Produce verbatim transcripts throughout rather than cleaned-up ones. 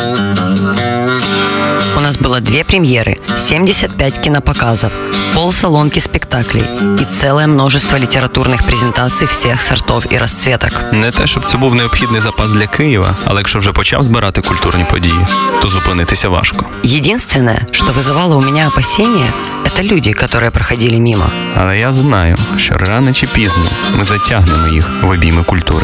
У нас было две премьеры, семьдесят пять кинопоказов, полсалонки спектаклей и целое множество літературних презентацій всіх сортов і розцветок. Не те, щоб це був необхідний запас для Києва, але якщо вже почав збирати культурні події, то зупинитися важко. Единственное, что вызывало у меня опасения, это люди, которые проходили мимо. Але я знаю, що рано чи пізно ми затягнемо їх в обійми культури.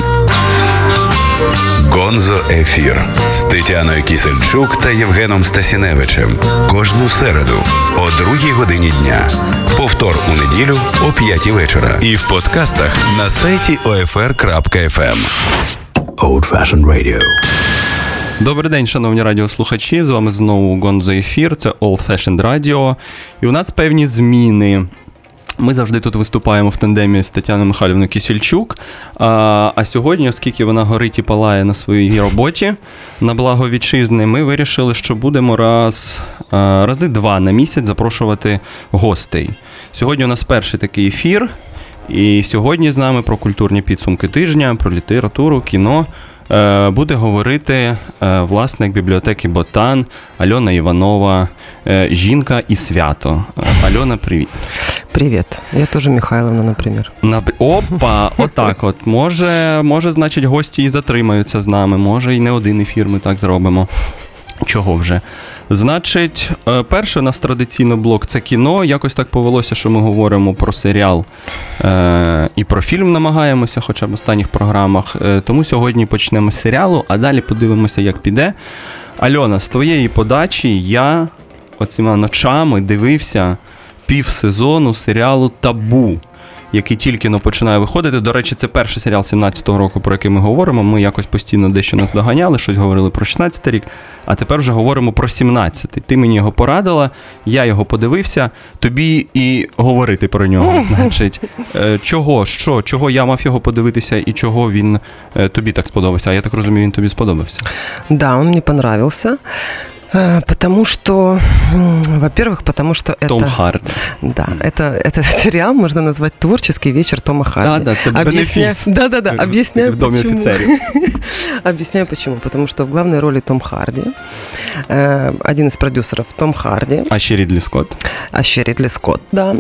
Гонзо Ефір з Тетяною Кісельчук та Євгеном Стасіневичем. Кожну середу о другій годині дня. Повтор у неділю о п'ятій вечора. І в подкастах на сайті о еф ер крапка еф ем. Old Fashioned Radio. Добрий день, шановні радіослухачі. З вами знову Гонзо Ефір. Це Old Fashioned Radio. І у нас певні зміни. Ми завжди тут виступаємо в тандемі з Тетяною Михайлівною Кісельчук, а, а сьогодні, оскільки вона горить і палає на своїй роботі на благо вітчизни, ми вирішили, що будемо раз, а, рази два на місяць запрошувати гостей. Сьогодні у нас перший такий ефір, і сьогодні з нами про культурні підсумки тижня, про літературу, кіно буде говорити власник бібліотеки Ботан Альона Іванова, жінка і свято. Альона, привіт. Привіт. Я теж Михайловна, наприклад. Опа, отак от. Може, може, значить, гості і затримаються з нами, може, і не один ефір ми так зробимо. Чого вже? Значить, перший у нас традиційно блок – це кіно. Якось так повелося, що ми говоримо про серіал е- і про фільм намагаємося, хоча б в останніх програмах. Е- тому сьогодні почнемо з серіалу, а далі подивимося, як піде. Альона, з твоєї подачі я оціма ночами дивився пів сезону серіалу «Табу», який тільки но починає виходити. До речі, це перший серіал сімнадцятого року, про який ми говоримо. Ми якось постійно дещо нас доганяли, щось говорили про шістнадцятий рік, а тепер вже говоримо про сімнадцятий. Ти мені його порадила, я його подивився, тобі і говорити про нього, значить. Чого, що, чого я мав його подивитися і чого він тобі так сподобався? А я так розумію, він тобі сподобався. Да, он мне понравился. Потому что, во-первых, потому что это... Том Харди. Да, это, этот сериал можно назвать «Творческий вечер Тома Харди». Да, да, это бенефис. Да-да-да, объясняю в Доме почему. офицеров. Объясняю почему. Потому что в главной роли Том Харди, один из продюсеров Том Харди. А ще Рідлі Скотт. А ще Рідлі Скотт, да.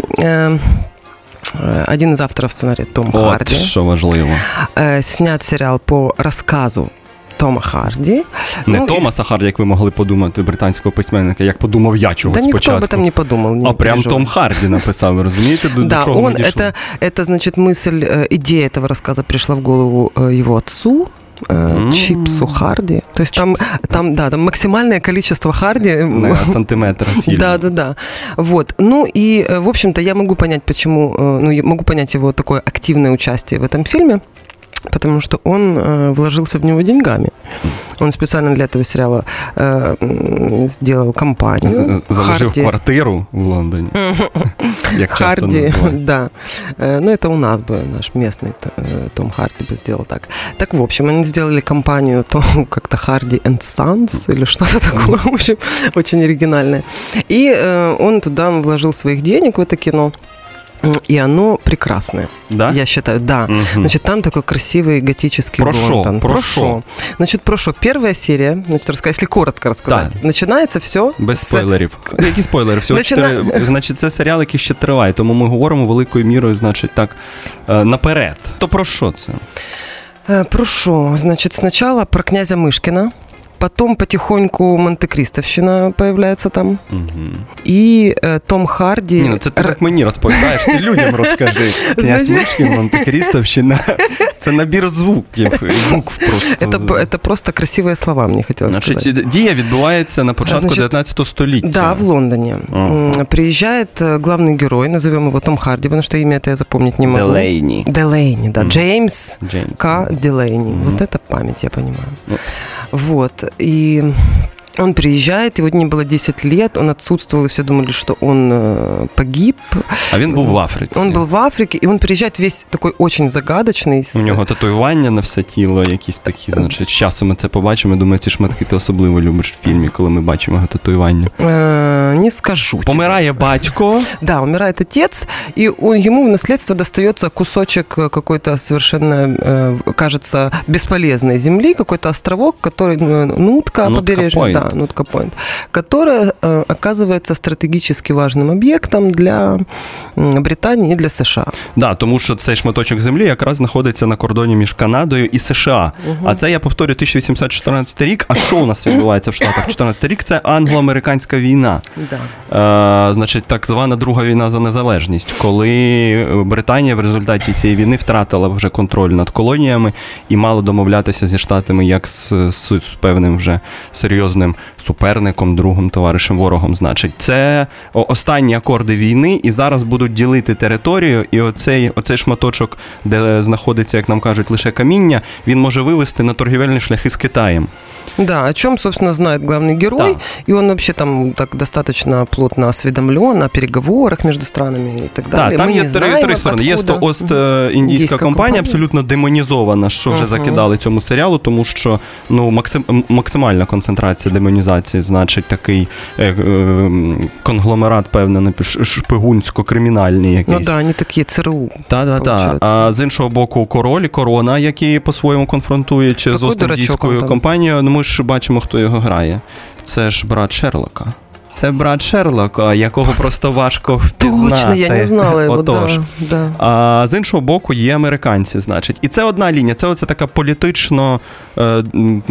Один из авторов сценария Том От, Харди. що важливо. Снят сериал по рассказу Тома Харді. Не ну, Томаса Харді, як ви могли подумати, британського письменника, як подумав я чогось да спочатку. Да никто об этом не подумал. Не а прям Том Харді написав, ви розумієте, до, да, до чого он, ми дійшли? Это, это, значит, мысль, идея этого рассказа пришла в голову его отцу, mm-hmm. Чипсу Харди. То есть там, там, да, там максимальное количество Харди. На сантиметр фильма. Да, да, да. Вот. Ну и, в общем-то, я могу понять, почему, ну, я могу понять его такое активное участие в этом фильме. Потому что он э, вложился в него деньгами. Он специально для этого сериала э, сделал компанию. Заложив Харди. Квартиру в Лондоне. Як часто Харди, називають. да. Э, ну, это у нас бы, наш местный э, Том Харди бы сделал так. Так, в общем, они сделали компанию Том, как-то Харди энд Санс или что-то такое, в общем, очень оригинальное. И э, он туда вложил своих денег в это кино. И оно прекрасное. Да? Я считаю, да. Угу. Значит, там такой красивый готический про Лондон. Про шо? Значит, про шо? Первая серия, значит, рассказать, если коротко рассказать. Да. Начинается все... Без з... спойлерів. Які спойлери? Всього Начина... чотири... Значить, це серіал, який ще триває, тому ми говоримо великою мірою, значить, так, наперед. То про що це? Про шо? Значит, сначала про князя Мышкина. Потом потихоньку Монте-Кристовщина появляется там. Угу. І е, Том Харді... Ні, ну це ти так мені розповідаєш, ти людям розкажи. Князь Мишкін, Монте-Кристовщина. Це набір звуків, букв просто. Это, это просто красивые слова, мне хотелось Значить, сказать. Дія відбувається на початку Значит, дев'ятнадцятого століття. Да, в Лондоне. Ага. Приезжает главный герой, назовем его Том Харди, потому что имя это я запомнить не могу. Делейни. Делейни, да. Mm. Джеймс, Джеймс К. Делейни. Mm-hmm. Вот это память, я понимаю. Mm. Вот. И Он приезжает, его не было десять лет, он отсутствовал, и все думали, что он э, погиб. А він був в Африці. Он был в Африке, и он приезжает весь такой очень загадочный. У нього татуювання на все тіло, якісь такі, значить, з часом ми це побачимо. Я думаю, ці шматки ти особливо любиш в фільмі, коли ми бачимо його татуювання. Э, не скажу. Помирає батько. Да, умирает отец, и он, ему в наследство достается кусочек какой-то совершенно, э, кажется, бесполезной земли, какой-то островок, который, Нутка, побережье, да, Нутка Пойнт, которая э, оказывается стратегически важным объектом для э, Британии и для США. Да, тому що цей шматочок землі якраз знаходиться на кордоні між Канадою і США. Угу. А це, я повторю, тисяча вісімсот чотирнадцятий рік. А що у нас відбувається в Штатах? чотирнадцятий рік – це англо-американська війна. Да. Е, значить, так звана Друга війна за незалежність, коли Британія в результаті цієї війни втратила вже контроль над колоніями і мала домовлятися зі Штатами як з, з, з певним вже серйозним суперником, другом, товаришем, ворогом. Значить, це останні акорди війни, і зараз будуть ділити територію, і оцей, оцей шматочок, де знаходиться, як нам кажуть, лише каміння, він може вивести на торгівельні шляхи з Китаєм. Да, о чем, собственно, знает главный герой, да. И он вообще там так достаточно плотно осведомлен о переговорах между странами и так далее. Да, там Мы є три, три сторони. Є то Ост-Індійська компанія, компанія, абсолютно демонізована, що вже uh-huh. закидали цьому серіалу, тому що ну, максим, максимальна концентрація демонізації, значить, такий е, е, конгломерат, певний, шпигунсько-кримінальний якийсь. Ну да, вони такі ЦРУ. Так, так, так. А з іншого боку, Король і Корона, які по-своєму конфронтують такий з Ост-Індійською компанією. Ну, ми ж бачимо, хто його грає. Це ж брат Шерлока. Це брат Шерлока, якого Просто... просто важко впізнати. Точно, я не знала його, Отож. Да, да. А з іншого боку є американці, значить. І це одна лінія, це оце така політично, е,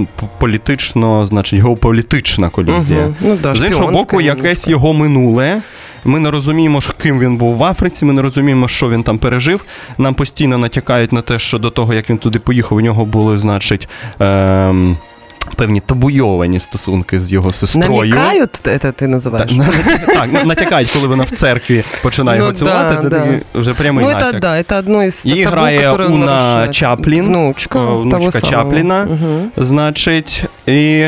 політично, значить, геополітична колізія. Угу. Ну, да, з іншого боку, якесь його минуле. Ми не розуміємо, ким він був в Африці, ми не розуміємо, що він там пережив. Нам постійно натякають на те, що до того, як він туди поїхав, у нього були, значить, е, певні табуйовані стосунки з його сестрою. Намікають, це ти називаєш? Так, так, натякають, коли вона в церкві починає ну, його цілувати, да, це да. вже прямий ну, натяк. Ну, це, да, це одно із табу, її грає Уна Чаплін, внучка, внучка Чапліна, угу. значить, і...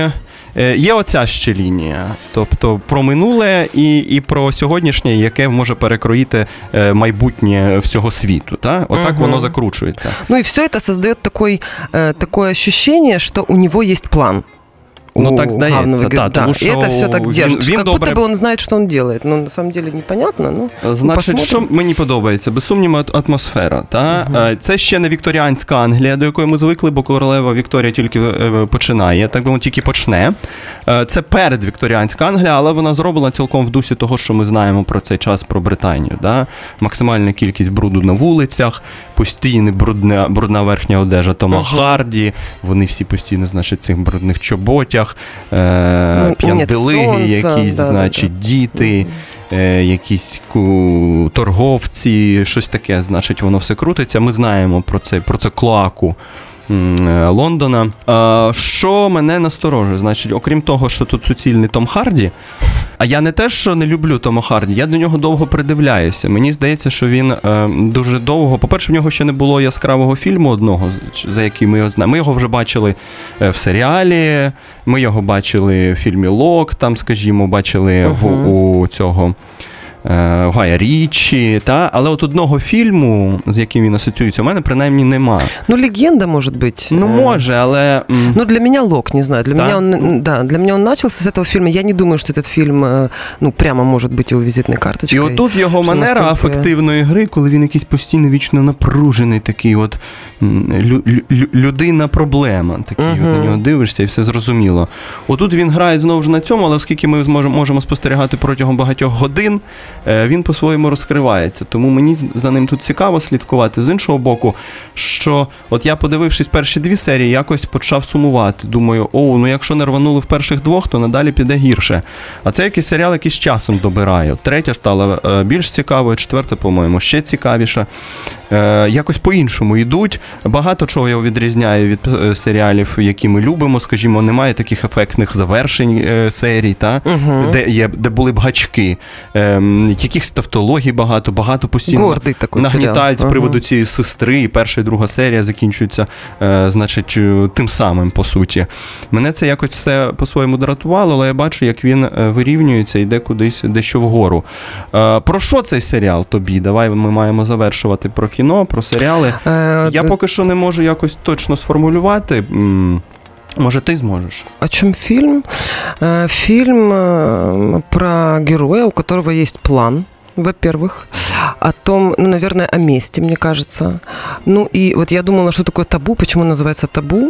Є оця ще лінія, тобто про минуле і, і про сьогоднішнє, яке може перекроїти майбутнє всього світу. Та? Отак угу. воно закручується. Ну і все це створює такий, таке відчуття, що у нього є план. Ну, так здається, да, тому да. що І це все так держить, він як добре... будто би він знає, що він робить. Ну, на самом деле, непонятно, ну, значить, що мені подобається? Без сумніву, атмосфера. Та? Uh-huh. Це ще не вікторіанська Англія, до якої ми звикли, бо королева Вікторія тільки починає, так би мовити, тільки почне. Це передвікторіанська Англія, але вона зроблена цілком в дусі того, що ми знаємо про цей час, про Британію. Да? Максимальна кількість бруду на вулицях, постійна брудна, брудна верхня одежа Тома uh-huh. Харді, вони всі постійно, значить, в цих брудних чоботях. Е, п'янделиги, якісь, да, значить, да, да. діти, е, якісь ку, торговці, щось таке, значить, воно все крутиться. Ми знаємо про це, про це клоаку м, Лондона. Е, що мене насторожує? Значить, окрім того, що тут суцільний Том Харді, а я не те, що не люблю Тома Харді, я до нього довго придивляюся. Мені здається, що він е, дуже довго... По-перше, в нього ще не було яскравого фільму одного, за який ми його знаємо. Ми його вже бачили е, в серіалі, ми його бачили в фільмі «Лок», там, скажімо, бачили uh-huh. в, у цього... Гая Річі, та? Але от одного фільму, з яким він асоціюється, у мене принаймні нема. Ну, легенда, може бути. Ну, може, але... Ну, для меня «Лок», не знаю. Для, меня он, да, для меня он начался с этого фильма. Я не думаю, что этот фильм, ну, прямо может быть его визитной карточкой. І отут його манера настільки... афективної гри, коли він якийсь постійно вічно напружений, такий от лю- лю- людина-проблема. Такий, uh-huh. от на нього дивишся і все зрозуміло. Отут він грає знову ж на цьому, але оскільки ми зможемо, можемо спостерігати протягом багатьох годин, він по-своєму розкривається. Тому мені за ним тут цікаво слідкувати. З іншого боку, що от я, подивившись перші дві серії, якось почав сумувати. Думаю, о, ну якщо не рванули в перших двох, то надалі піде гірше. А це якийсь серіал, який з часом добирає. Третя стала більш цікавою, четверта, по-моєму, ще цікавіша. Якось по-іншому йдуть. Багато чого його відрізняє від серіалів, які ми любимо. Скажімо, немає таких ефектних завершень серій, та? Угу. де, є, де були б гачки. якихось тавтологій багато, багато постійно Гордий такий нагнітають серіал. з приводу Ага. цієї сестри, і перша і друга серія закінчуються, е, значить, тим самим, по суті. Мене це якось все по-своєму дратувало, але я бачу, як він вирівнюється, йде кудись дещо вгору. Е, про що цей серіал тобі? Давай ми маємо завершувати про кіно, про серіали. Э, Я д- поки що не можу якось точно сформулювати. М, Може, ти зможеш? О чем фильм? Э, Фильм э, про героя, у которого есть план, во-первых, о том, ну, наверное, о месте, мне кажется. Ну, и вот я думала, что такое табу, почему называется табу,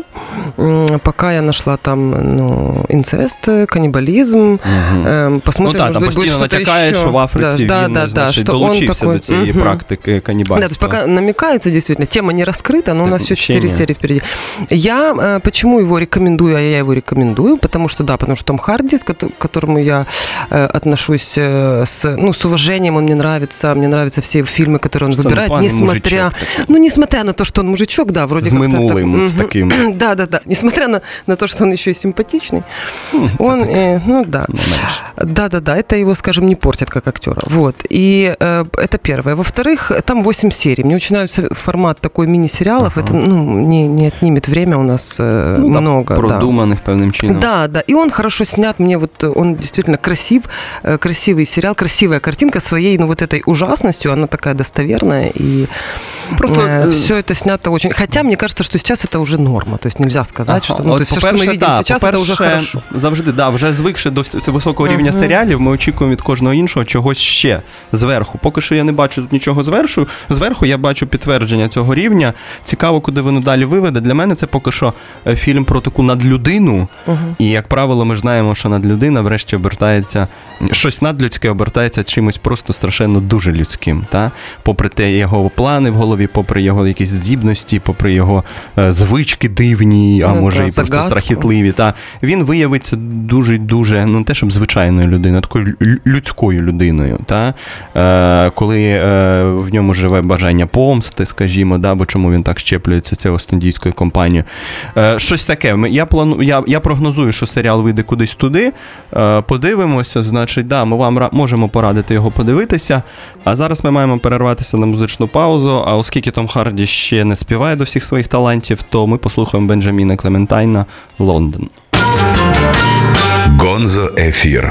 М, пока я нашла там, ну, инцест, каннибализм, Угу. Эм, посмотрим, Ну так, может там быть, будет постійно что-то натякає, еще. що в Африці да, він, да, да, значить, что он долучився такой, до цієї мгм. практики канібальства. Да, то есть пока намекается, действительно, тема не раскрыта, но у Так, нас еще вообще четыре нет. серии впереди. Я э, почему его рекомендую, а я его рекомендую, потому что, да, потому что Том Харди, с кото- к которому я э, отношусь э, с, ну, с уважением, он мне нравится, мне нравятся все фильмы, которые он Це выбирает, непоганий несмотря, мужичок такий. ну, несмотря на то, что он мужичок, да, вроде З как-то минулим, так, з мгм. таким. Да, да, да, несмотря на, на то, что он еще и симпатичный, М, це он, так, э, ну, да. не менше. Да-да-да, это его, скажем, не портит как актера. Вот. И э, это первое. Во-вторых, там восемь серий. Мне очень нравится формат такой мини-сериалов. Ага. Это, ну, не, не отнимет время у нас э, Ну, да, много. Да. продуманих певним чином. Да, да. И он хорошо снят. Мне вот он действительно красив, э, красивый сериал, красивая картинка своей, ну, вот этой ужасностью. Она такая достоверная. И Просто, э, э, все это снято очень... Хотя мне кажется, что сейчас это уже норма. То есть нельзя сказать, Ага. что... Ну, От, то есть все, что мы по-перше, видим да, сейчас, это уже по-перше, хорошо. Завжди, да, вже звикши до с- високого рівня Ага. серіалів, ми очікуємо від кожного іншого чогось ще зверху. Поки що я не бачу тут нічого зверху. Зверху я бачу підтвердження цього рівня. Цікаво, куди воно далі виведе. Для мене це поки що е, фільм про таку надлюдину. Угу. І, як правило, ми ж знаємо, що надлюдина врешті обертається, щось надлюдське обертається чимось просто страшенно дуже людським. Та? Попри те його плани в голові, попри його якісь здібності, попри його е, звички дивні, а Ну, може та, і просто загадку. страхітливі. Та? Він виявиться дуже-дуже, ну не те, щоб звичайною людиною, а такою лю- людською людиною. Та? Е, коли е, в ньому живе бажання помсти, скажімо, да? Бо чому він так щеплюється цією остіндійською компанією. Е, щось таке. Ми- Я, плану, я, я прогнозую, що серіал вийде кудись туди. Е, подивимося, значить, да, ми вам ра- можемо порадити його подивитися. А зараз ми маємо перерватися на музичну паузу. А оскільки Том Харді ще не співає до всіх своїх талантів, то ми послухаємо Бенджаміна Клементайна «Лондон». Гонзо Ефір.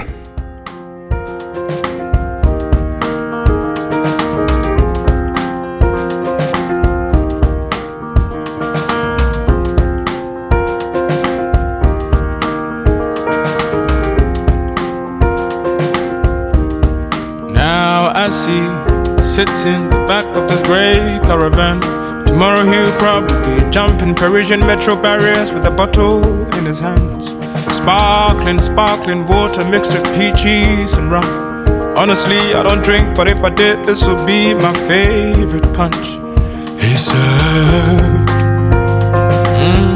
Now I see sits in the back of this grey caravan. Tomorrow he'll probably jump in Parisian metro barriers with a bottle in his hands. Sparkling, sparkling water mixed with peaches and rum. Honestly, I don't drink, but if I did, this would be my favorite punch. He said, mm,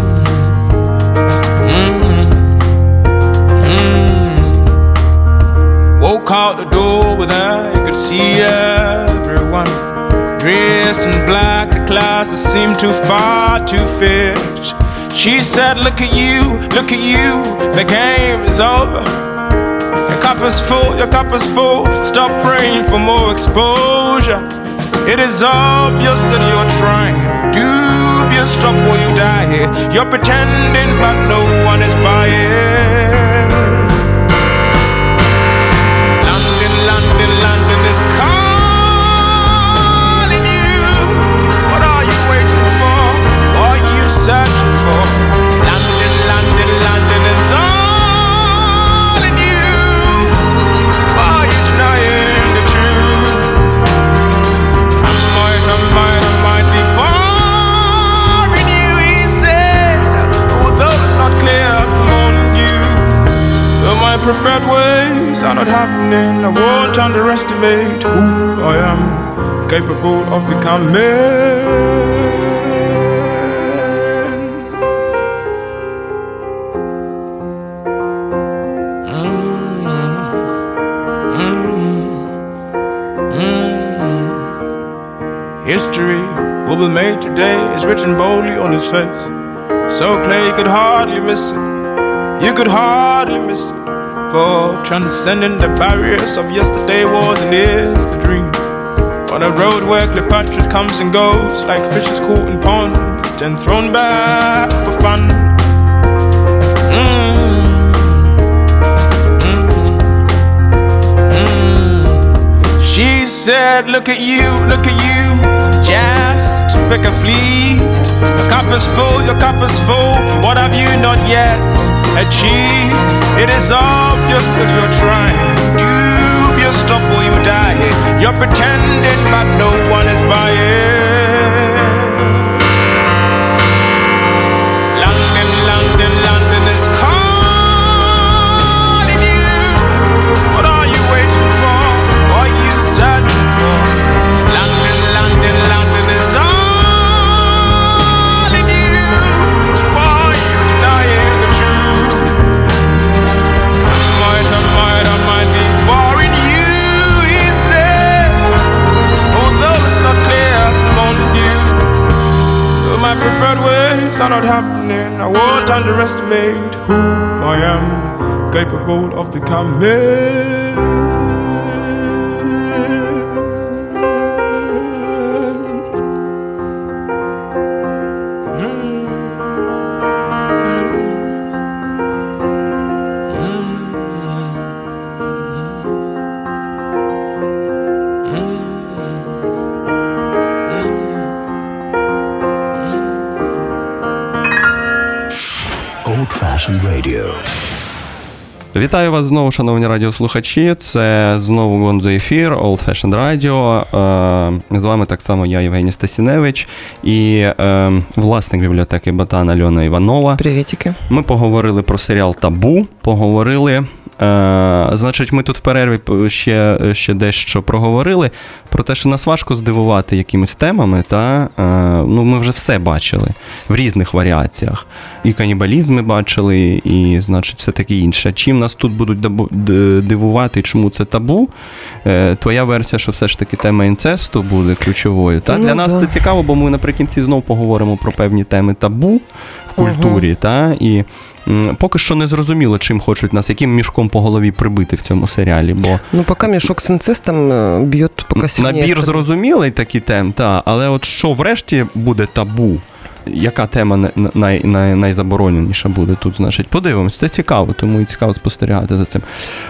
mm, mm. Woke out the door with her, you could see everyone dressed in black, the classes seemed too far to fetch. She said, look at you, look at you, the game is over. Your cup is full, your cup is full, stop praying for more exposure. It is obvious that you're trying, dubious, stop while you die here. You're pretending but no one is buying. London, London, London is calling you. What are you waiting for? What are you searching for? London, London, London is all in you. Why are you denying the truth? I might, I might, I might be far in you, he said. Although it's not clear, I've warned you. Though my preferred ways are not happening, I won't underestimate who I am, capable of becoming. History will be made today is written boldly on his face. So clear you could hardly miss it. You could hardly miss it. for transcending the barriers of yesterday was and is the dream. On a road where Cleopatra comes and goes like fishes caught in ponds, then thrown back for fun. Mm. She said, look at you, look at you, just pick a fleet. Your cup is full, your cup is full, what have you not yet achieved? It is obvious that you're trying, dubious, stop or you die. You're pretending but no one is buying. London, London, London is calling you. What are you waiting for? What are you searching for? London, London, London is all in you. Why are you denying the truth? I might, I might, I might be boring you, he said. Although it's not clear, on you. Though my preferred ways are not happening, I won't underestimate who I am, capable of becoming. Old-fashioned radio. Вітаю вас знову, шановні радіослухачі. Це знову Гонзо ефір, Old Fashioned Radio. З вами так само я, Євгеній Стасіневич, і власник бібліотеки Ботан Альона Іванова. Привітики. Ми поговорили про серіал «Табу», поговорили... Е, значить, ми тут в перерві ще, ще дещо проговорили про те, що нас важко здивувати якимись темами, та е, ну, ми вже все бачили в різних варіаціях. І канібалізм ми бачили, і, значить, все таке інше. Чим нас тут будуть дивувати, і чому це табу? Е, твоя версія, що все ж таки тема інцесту буде ключовою. Та? Ну, для нас да. Це цікаво, бо ми наприкінці знов поговоримо про певні теми табу в культурі, угу. та? І поки що не зрозуміло, чим хочуть нас, яким мішком по голові прибити в цьому серіалі. Бо ну, поки мішок з інцестом б'є поки сильніше. Набір зрозумілий такі тем, та, але от що врешті буде табу? Яка тема най, най, найзабороненіша буде тут, значить, подивимось. Це цікаво, тому і цікаво спостерігати за цим.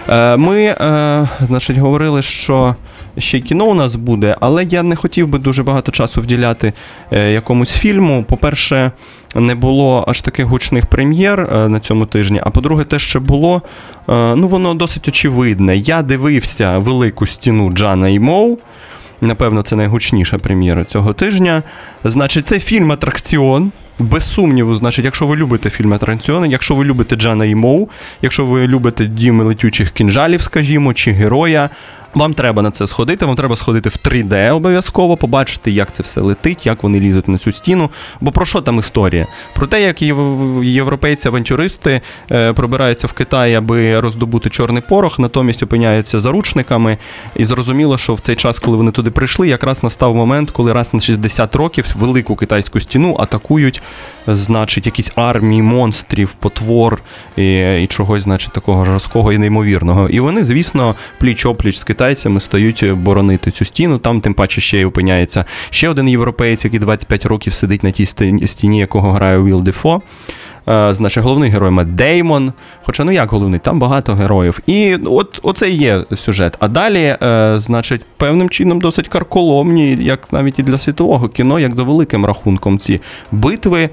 Ми, значить, говорили, що ще й кіно у нас буде, але я не хотів би дуже багато часу вділяти якомусь фільму. По-перше, не було аж таких гучних прем'єр на цьому тижні, а по-друге, те, що було, ну, воно досить очевидне. Я дивився «Велику стіну» Джана і Моу. Напевно, це найгучніша прем'єра цього тижня. Значить, це фільм-атракціон. Без сумніву, значить, якщо ви любите фільм-атракціони, якщо ви любите Джана і Моу, якщо ви любите «Дім летючих кінжалів», скажімо, чи «Героя», вам треба на це сходити, вам треба сходити в три де обов'язково, побачити, як це все летить, як вони лізуть на цю стіну. Бо про що там історія? Про те, як європейці-авантюристи е, пробираються в Китай, аби роздобути чорний порох, натомість опиняються заручниками. І зрозуміло, що в цей час, коли вони туди прийшли, якраз настав момент, коли раз на шістдесят років велику китайську стіну атакують, значить, якісь армії монстрів, потвор і, і чогось, значить, такого жорсткого і неймовірного. І вони, звісно, пліч-опліч з китайцями стоять боронити цю стіну. Там, тим паче, ще й опиняється ще один європеєць, який двадцять п'ять років сидить на тій стіні, якого грає Уілл Дефо. Значить, головний герой Мет Деймон. Хоча, ну як головний, там багато героїв. І от оце і є сюжет. А далі, значить, певним чином досить карколомні, як навіть і для світового кіно, як за великим рахунком ці битви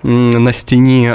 на стіні,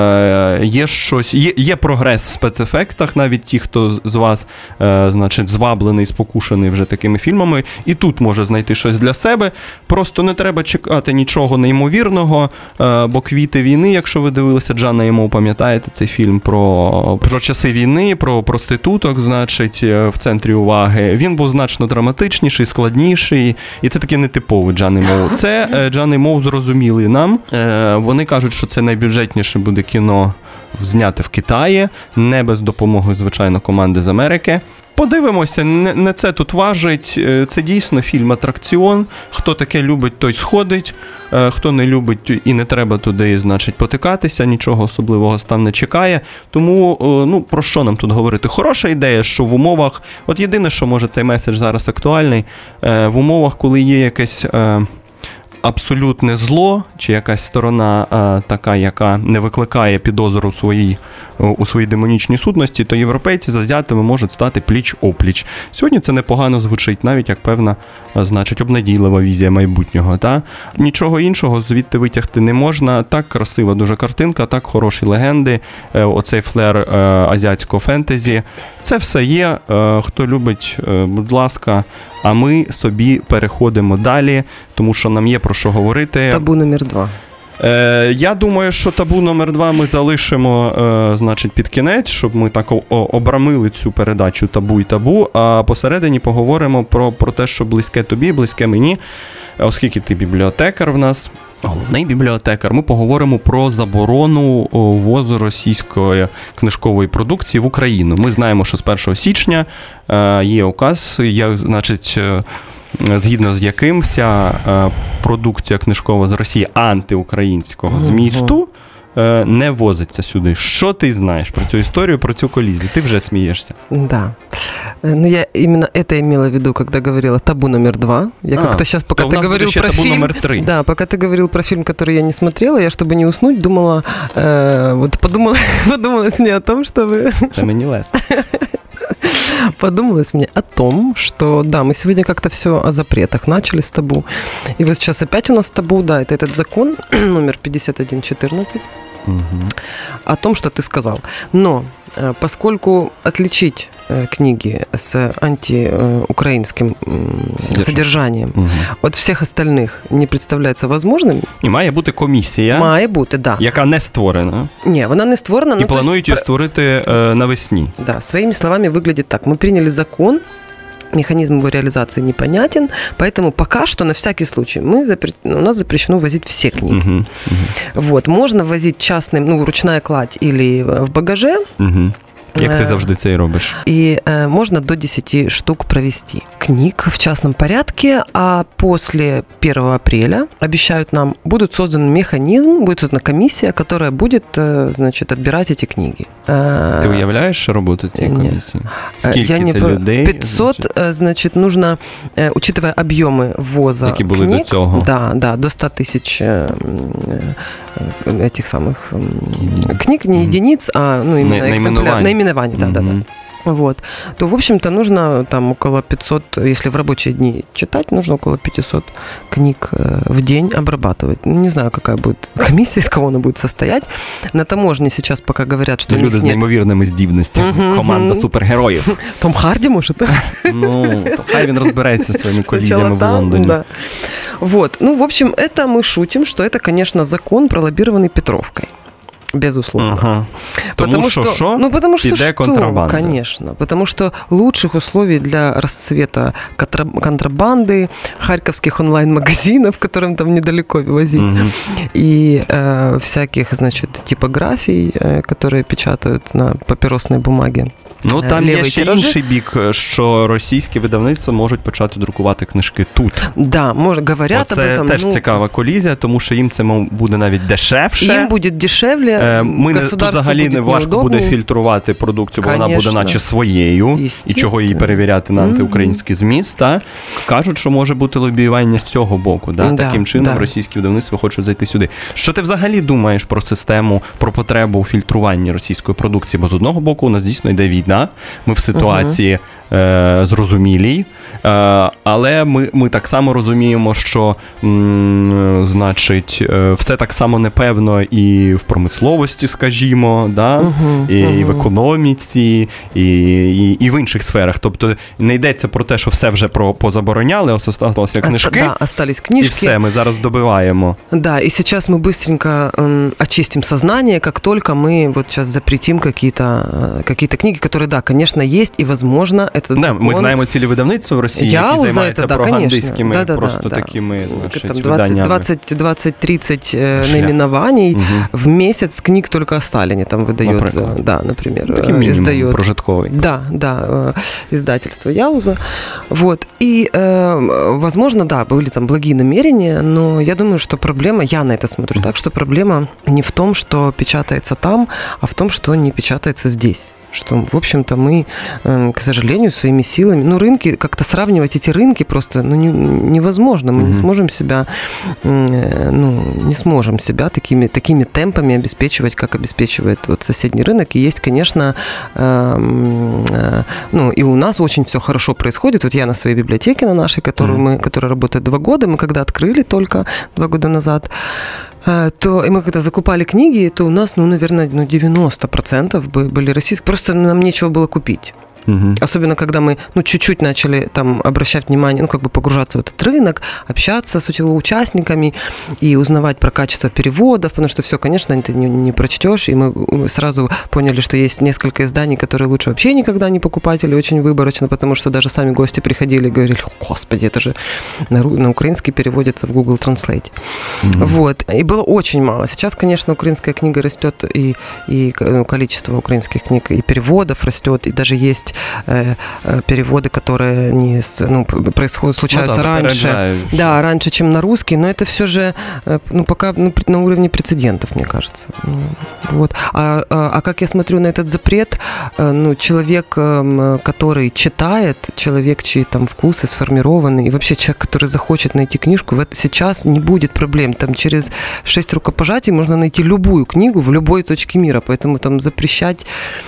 е, є щось, є, є прогрес в спецефектах, навіть ті, хто з вас, е, значить, зваблений, спокушений вже такими фільмами, і тут може знайти щось для себе. Просто не треба чекати нічого неймовірного, е, бо «Квіти війни», якщо ви дивилися Джана і Моу, пам'ятаєте цей фільм про, про часи війни, про проституток, значить, в центрі уваги. Він був значно драматичніший, складніший, і це таки нетиповий Джан і Моу. Це е, Джан і Моу зрозуміли нам. Е, вони кажуть, кажуть, що це найбюджетніше буде кіно зняте в Китаї, не без допомоги, звичайно, команди з Америки. подивимося, не, не це тут важить. Це дійсно фільм-атракціон. Хто таке любить, той сходить. Хто не любить і не треба туди, значить, потикатися, нічого особливого там не чекає. Тому, ну, про що нам тут говорити? Хороша ідея, що в умовах, от єдине, що може цей меседж зараз актуальний, в умовах, коли є якесь абсолютне зло, чи якась сторона а, така, яка не викликає підозру у своїй, у своїй демонічній сутності, то європейці з азіатами можуть стати пліч-опліч. Сьогодні це непогано звучить, навіть як певна, значить, обнадійлива візія майбутнього. Та? Нічого іншого звідти витягти не можна. Так красива дуже картинка, так хороші легенди, оцей флер азіатського фентезі. Це все є. Хто любить, будь ласка, а ми собі переходимо далі, тому що нам є про що говорити. Табу номер два. Е, я думаю, що табу номер два ми залишимо, е, значить, під кінець, щоб ми так о- обрамили цю передачу табу і табу, а посередині поговоримо про, про те, що близьке тобі, близьке мені, оскільки ти бібліотекар в нас, головний бібліотекар, ми поговоримо про заборону ввозу російської книжкової продукції в Україну. Ми знаємо, що з першого січня е, є указ, як, значить, е, згідно з яким вся е, продукція книжкова з Росії антиукраїнського змісту е, не возиться сюди. Що ти знаєш про цю історію, про цю колізію? Ти вже смієшся. Да. Ну, я именно это имела в виду, когда говорила табу номер два. Я а, как-то сейчас, пока ты говорил про табу фильм... номер три. Да, пока ты говорил про фильм, который я не смотрела, я, чтобы не уснуть, думала... Э, вот подумала, подумалось мне о том, чтобы... Это мне лестно. Подумалось мне о том, что, да, мы сегодня как-то все о запретах начали с табу. И вот сейчас опять у нас табу, да, это этот закон номер пятьдесят один четырнадцать. Угу. О том, что ты сказал. Но поскольку отличить книги с антиукраинским Содержание. содержанием угу. от всіх остальних не представляється возможним. І має бути комісія, має бути, да. яка не створена. Ні, вона не створена. І ну, планують її створити е, навесні. Да, своими словами выглядит так. Мы приняли закон, механизм его реализации непонятен, поэтому пока что, на всякий случай, мы запре... у нас запрещено возить все книги. Uh-huh, uh-huh. Вот, можно возить частным, ну, ручная кладь или в багаже. Uh-huh. Як ти завжди це і робиш. И э, можно до десяти штук провести книг в частном порядке, а после первого апреля, обещают нам, будет создан механизм, будет создана комиссия, которая будет, э, значит, отбирать эти книги. Ты уявляешь работу цієї комісії? Скільки Я не це людей? пятьсот, значит, значит нужно, э, учитывая объемы ввоза які були книг, до цього. Да, да, до ста тысяч э, этих самых э, книг, не mm-hmm. единиц, а ну, именно экземпляр, наименований, да, mm-hmm. да, да. Вот, то, в общем-то, нужно там около пятьсот, если в рабочие дни читать, нужно около пятьсот книг в день обрабатывать. Не знаю, какая будет комиссия, из кого она будет состоять. На таможне сейчас пока говорят, что люди з неймовірними здібностями. Uh-huh. Команда супергероїв. Том Харді, може? Ну, то хай він розбирається зі своїми колізіями в Лондоні. Да. Вот, ну, в общем, это мы шутим, что это, конечно, закон, пролоббированный Петровкой. Безусловно. Ага. Потому потому что, что, что ну, потому что, что контрабанда. Конечно. Потому что лучших условий для расцвета контрабанды, харьковских онлайн-магазинов, которым там недалеко возить, угу. и э, всяких, значит, типографий, э, которые печатают на папіросной бумаге. Ну, там є ще тиражі. Інший бік, що російські видавництва можуть почати друкувати книжки тут. Да, може, говорять об этом. Це теж ну, цікава колізія, тому що їм це буде навіть дешевше. Їм буде дешевле, Ми не, тут взагалі не важко неудобні. Буде фільтрувати продукцію, бо Конечно. Вона буде наче своєю, і чого її перевіряти на антиукраїнський зміст. Та? Кажуть, що може бути лобіювання з цього боку. Да? Да, Таким чином да. російські видавництва хочуть зайти сюди. Що ти взагалі думаєш про систему, про потребу у фільтруванні російської продукції? Бо з одного боку у нас дійсно йде війна, ми в ситуації uh-huh. е, зрозумілій, е, але ми, ми так само розуміємо, що м, значить, е, все так само непевно і в промисловості, скажімо, да? uh-huh. І, uh-huh. і в економіці, і, і, і в інших сферах. Тобто не йдеться про те, що все вже про, позабороняли, ось осталися книжки, да, остались книжки. І все, ми зараз добиваємо. Да, и сейчас мы быстренько э, очистим сознание, как только мы вот сейчас запретим какие-то, какие-то книги, которые который, да, конечно, есть, и, возможно, этот Да, закон... ми знаємо цілі видавництва в Росії, Я які за займаються это, да, пропагандистськими, да, да, просто да, такими, да. значить, Там виданнями. двадцать-тридцать э, наименований угу. в месяц книг только о Сталине там выдает, например. да, например, Таким минимум издает. прожитковый. Да, да, э, издательство Яуза. Вот. И, э, возможно, да, были там благие намерения, но я думаю, что проблема, я на это смотрю так, что проблема не в том, что печатается там, а в том, что не печатается здесь. Что, в общем-то, мы, к сожалению, своими силами, ну, рынки, как-то сравнивать эти рынки просто, ну, не, невозможно. Мы mm-hmm. не сможем себя, ну, не сможем себя такими, такими темпами обеспечивать, как обеспечивает вот соседний рынок. И есть, конечно, э, э, ну, и у нас очень все хорошо происходит. Вот я на своей библиотеке, на нашей, которую mm-hmm. мы, которая работает два года, мы когда открыли только два года назад, то и мы когда закупали книги, то у нас, ну, наверное, ну, девяносто процентов были российские. Просто нам нечего было купить. Угу. Особенно, когда мы, ну, чуть-чуть начали там обращать внимание, ну, как бы погружаться в этот рынок, общаться с его участниками и узнавать про качество переводов, потому что все, конечно, ты не, не прочтешь, и мы сразу поняли, что есть несколько изданий, которые лучше вообще никогда не покупать или очень выборочно, потому что даже сами гости приходили и говорили: господи, это же на, на украинский переводится в Google Translate. Угу. Вот. И было очень мало. Сейчас, конечно, украинская книга растет, и, и ну, количество украинских книг и переводов растет, и даже есть переводы, которые не, ну, происходят, случаются ну, да, раньше. Да, раньше, чем на русский, но это все же, ну, пока ну, на уровне прецедентов, мне кажется. Ну, вот. А, а, а как я смотрю на этот запрет, ну, человек, который читает, человек, чьи там вкусы сформированы, и вообще человек, который захочет найти книжку, в это сейчас не будет проблем. Там через шесть рукопожатий можно найти любую книгу в любой точке мира, поэтому там запрещать,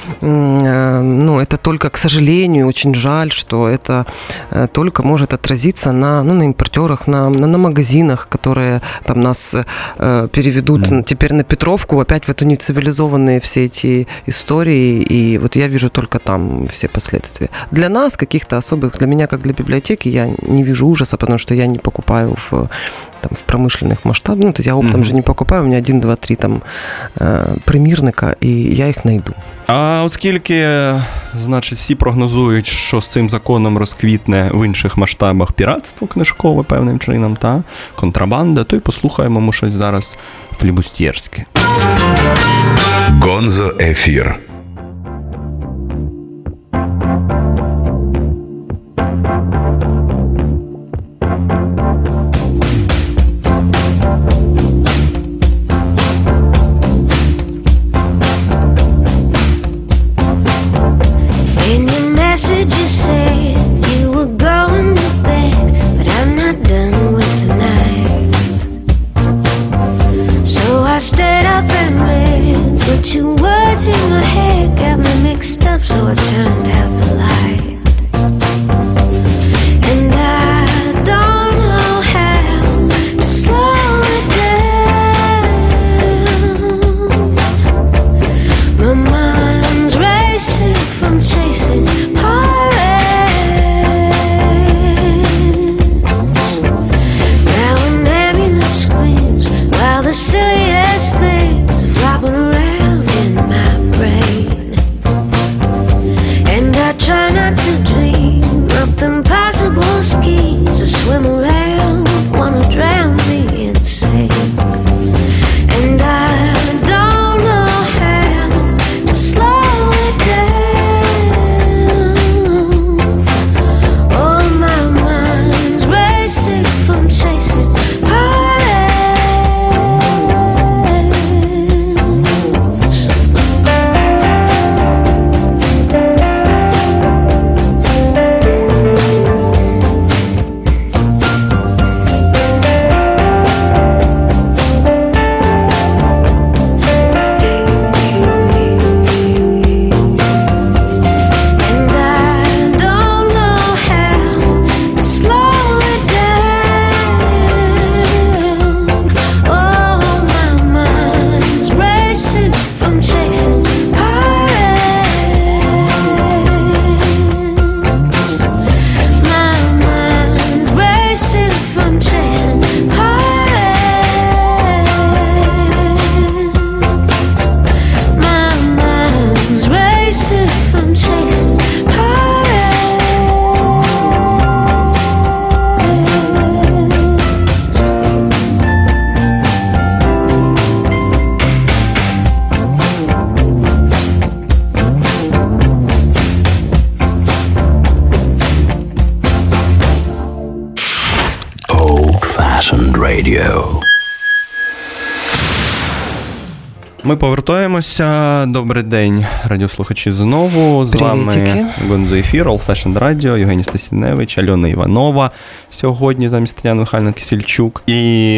ну, это только, к сожалению, очень жаль, что это только может отразиться на, ну, на импортерах, на, на, на магазинах, которые там нас э, переведут mm. теперь на Петровку, опять в это нецивилизованные все эти истории, и вот я вижу только там все последствия. Для нас, каких-то особых, для меня, как для библиотеки, я не вижу ужаса, потому что я не покупаю в, там, в промышленных масштабах, ну, то есть я оптом mm-hmm. же не покупаю, у меня один, два, три там э, примірника, і я їх знайду. А оскільки, значить, всі прогнозують, що з цим законом розквітне в інших масштабах піратство книжкове певним чином, та контрабанда, то й послухаємо ми щось зараз флібустєрське. Гонзо ефір. I'm chasing pirates. Old-fashioned radio. Ми повертаємося. Добрий день, радіослухачі, знову. З Привітики. вами Гонзо Ефір, Old Fashioned Radio, Євгеній Стасіневич, Альона Іванова. Сьогодні замість Тетяни Михайлівни Кисельчук. І,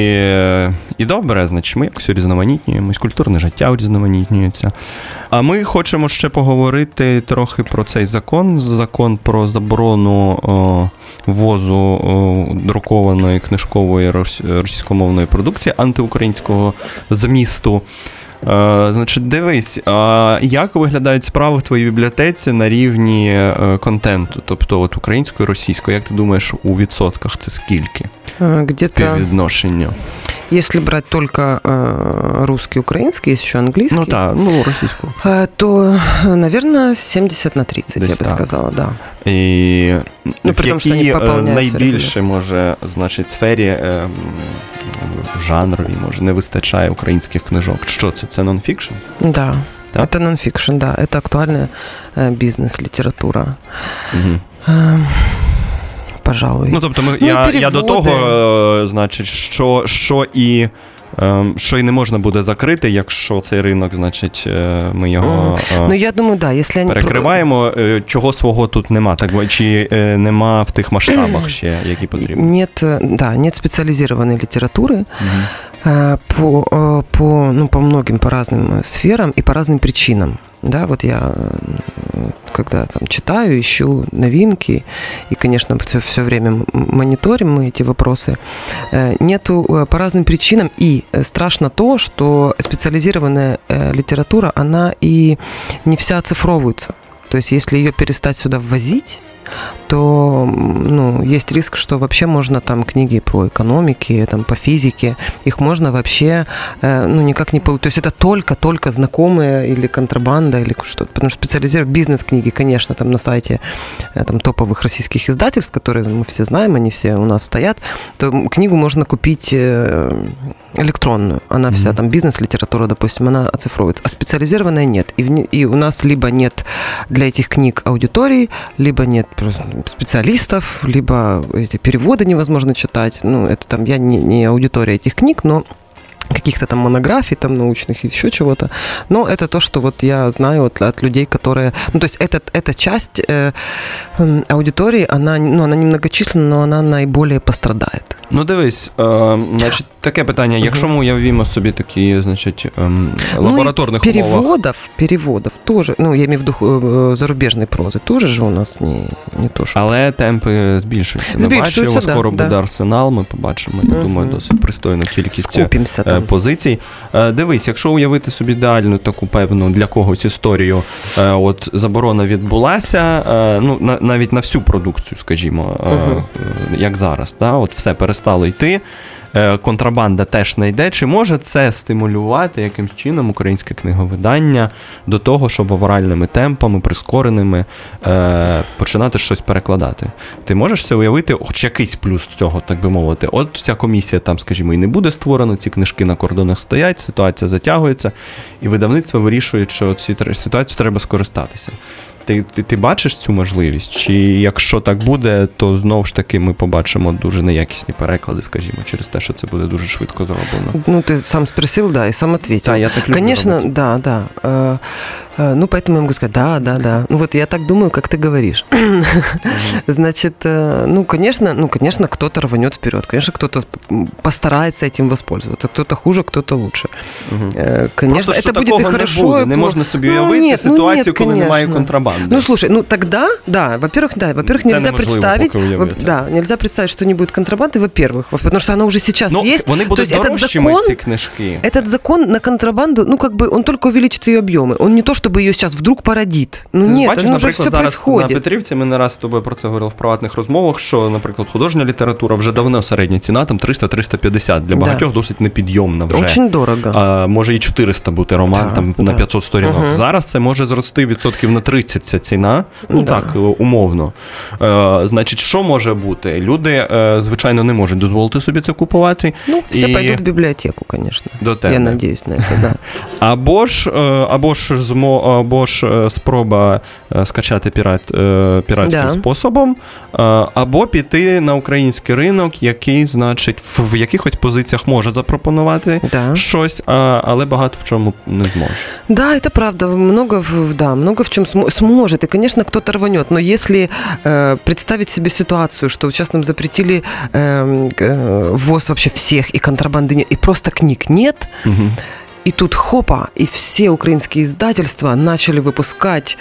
і добре, значить, ми якось різноманітнюємось, культурне життя урізноманітнюється. А ми хочемо ще поговорити трохи про цей закон, закон про заборону о, ввозу о, друкованої книжкової російськомовної продукції антиукраїнського змісту. Uh, значить, дивись, uh, як виглядають справи в твоїй бібліотеці на рівні uh, контенту, тобто от українською, російською, як ти думаєш, у відсотках це скільки? Где-то, співвідношення? если брать только э, русский, украинский, есть еще английский. Ну так, ну російську. Э, то, наверное, семьдесят на тридцять, десь я бы так сказала, да. І ну, в якій найбільше, може, значить, сфері е, жанровій, може, не вистачає українських книжок? Що це? Це нонфікшн? Да, так? Это нонфикшн, да. Это актуальная э, бизнес-литература. Угу. Э, пожалуй. Ну, тобто, ми, ну, я, я до того, значить, що, що і... що і не можна буде закрити, якщо цей ринок, значить, ми його ну, я думаю, да, якщо вони... перекриваємо, чого свого тут нема, так, чи нема в тих масштабах ще, які потрібні? Нет, да, нет специализированной литературы угу. по, по, ну, по многим, по разным сферам и по разным причинам. Да, вот я, когда там читаю, ищу новинки, и, конечно, все, все время мониторим мы эти вопросы, нету по разным причинам, и страшно то, что специализированная литература, она и не вся оцифровывается. То есть, если ее перестать сюда ввозить, то, ну, есть риск, что вообще можно там книги по экономике, там, по физике, их можно вообще, ну, никак не получить. То есть это только-только знакомые или контрабанда, или что-то. Потому что специализированные бизнес-книги, конечно, там на сайте там, топовых российских издательств, которые мы все знаем, они все у нас стоят, то книгу можно купить электронную. Она mm-hmm. вся, там, бизнес-литература, допустим, она оцифровывается. А специализированная нет. И, в, и у нас либо нет для этих книг аудитории, либо нет специалистов, либо эти переводы невозможно читать. Ну, это там, я не, не аудитория этих книг, но каких-то там монографий там научных и еще чего-то. Но это то, что вот я знаю от, от людей, которые... Ну, то есть этот, эта часть э, аудитории, она, ну, она немногочисленна, но она наиболее пострадает. Ну, дивись, е, значить, таке питання. Якщо ми уявимо собі такі, значить, е, лабораторних ну, переводов, умовах... переводов тоже, ну, я имею в виду зарубежной прозы, тоже же у нас не, не то, що... Але темпи збільшуються. Ми бачимо, скоро да, буде да. Арсенал, ми побачимо, я mm-hmm. думаю, досить пристойну кількість е, позицій. Е, дивись, якщо уявити собі ідеальну таку певну для когось історію, е, от заборона відбулася, е, ну, на, навіть на всю продукцію, скажімо, е, mm-hmm. е, як зараз, да, от все перестало стало йти, контрабанда теж не йде. Чи може це стимулювати якимсь чином українське книговидання до того, щоб авральними темпами, прискореними, е, починати щось перекладати? Ти можеш це уявити, хоч якийсь плюс цього, так би мовити? От ця комісія там, скажімо, і не буде створена, ці книжки на кордонах стоять, ситуація затягується, і видавництво вирішує, що цю ситуацію треба скористатися. Ти, ти, ти бачиш цю можливість? Чи якщо так буде, то знову ж таки ми побачимо дуже неякісні переклади, скажімо, через те, що це буде дуже швидко зроблено? Ну, ты сам спросил, да, и сам ответил. Да, я так люблю Конечно, работать. да, да. Э, э, ну, поэтому я могу сказать, да, да, да. Ну, вот я так думаю, как ты говоришь. Значит, э, ну, конечно, ну, конечно, кто-то рванет вперед, конечно, кто-то постарается этим воспользоваться, кто-то хуже, кто-то лучше. Э, конечно, просто, это будет и хорошо, не, буде. Не можна собі уявити ну, ситуацію, ну, нет, коли немає контрабанди. Ну, слушай, ну тогда, да, во-первых, да, во-первых, нельзя представить, да, нельзя представить, что не будет контрабанды, во-первых, потому что она уже сейчас ну, есть. Вони будуть дорожчими, ці книжки. Этот закон на контрабанду, ну, как бы, он только увеличит ее объемы. Он не то, что чтобы ее сейчас вдруг породит. Ну Ти нет, бачиш, ну уже наприклад, все зараз происходит. на Петрівці ми не раз з тобою про це говорили в приватних розмовах, що, наприклад, художня література вже давно середня ціна, там триста - триста п'ятдесят. Для багатьох Да. досить непідйомна вже. Очень дорого. А, може і чотириста бути роман Да, там да. на п'ятсот сторінок. Угу. Зараз це може зрости відсотків на тридцять ця ціна. Ну Да. так, умовно. Е, значить, що може бути? Люди, е, звичайно, не можуть дозволити собі це купувати. Ну, все і... пойдут в библиотеку, конечно. До тебе. Я надеюсь на это, да. Або ж, е, або ж, змо, або ж е, спроба е, скачати пірат, е, піратським Да. способом, е, або піти на український ринок, який, значить, в, в якихось позиціях може запропонувати Да. щось, а, але багато в чому не зможе. Да, это правда, много, в- да, много в чем см- сможет, и, конечно, кто-то рванет, но если э, представить себе ситуацию, что сейчас нам запретили э, к- э, ввоз вообще всех, и контрабанды нет, и просто книг нет, Угу. и тут хопа, и все украинские издательства начали выпускать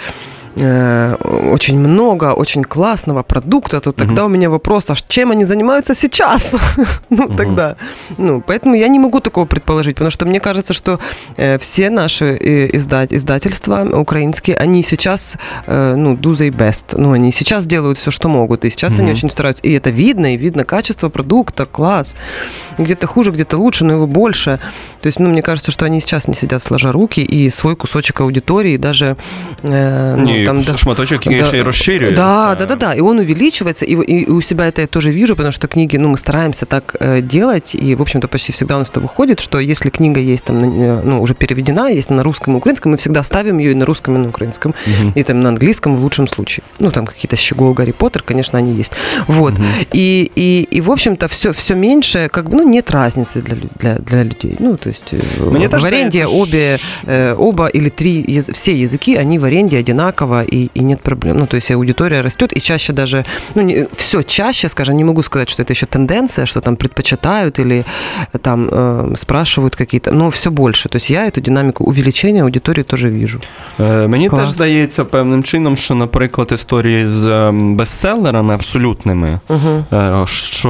э, очень много, очень классного продукта, то тогда Мгм. у меня вопрос, а чем они занимаются сейчас? Ну, Мгм. тогда. Ну, поэтому я не могу такого предположить, потому что мне кажется, что э, все наши э, издать, издательства украинские, они сейчас, э, ну, do their best. Ну, они сейчас делают все, что могут, и сейчас Мгм. они очень стараются. И это видно, и видно качество продукта, класс. Где-то хуже, где-то лучше, но его больше. То есть, ну, мне кажется, что они сейчас не сидят сложа руки, и свой кусочек аудитории даже... э, ну, Ні, там, да- шматочок, який да, ще й розширюється. Да, да, да, да. И он увеличивается, и, и у себя это я тоже вижу, потому что книги, ну, мы стараемся так э, делать, и, в общем-то, почти всегда у нас это выходит, что если книга есть там, на- ну, уже переведена, есть на русском и украинском, мы всегда ставим ее и на русском, и на украинском, Мгм. и там на английском в лучшем случае. Ну, там какие-то Щегол, Гарри Поттер, конечно, они есть. Вот. Мгм. И, и, и, в общем-то, все, все меньше, как бы, ну, нет разницы для, лю- для, для людей. Ну, то есть э, Мне в тоже аренде кажется, обе, э, оба или три, яз- все языки, они в аренде одинаково, и, и нет проблем. Ну, то есть аудитория растет, и чаще даже, ну, не, все чаще, скажем, не могу сказать, что это еще тенденция, что там предпочитают или э, там э, спрашивают какие-то, но все больше. То есть я эту динамику увеличения аудитории тоже вижу. Е, Мені Клас. теж здається певним чином, що, наприклад, історії з ем, бестселерами абсолютними, Угу. е,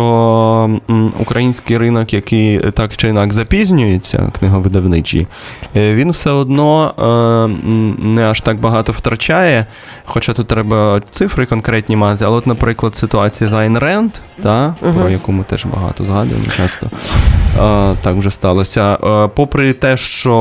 що м, український ринок, який так чи інак запізнюється, книговидавничий, е, він все одно е, м, не аж так багато втрачає, хоча тут треба цифри конкретні мати, але от, наприклад, ситуація з Айн Ренд, та, Мгм. про яку ми теж багато згадуємо часто, е, так вже сталося. Е, Попри те,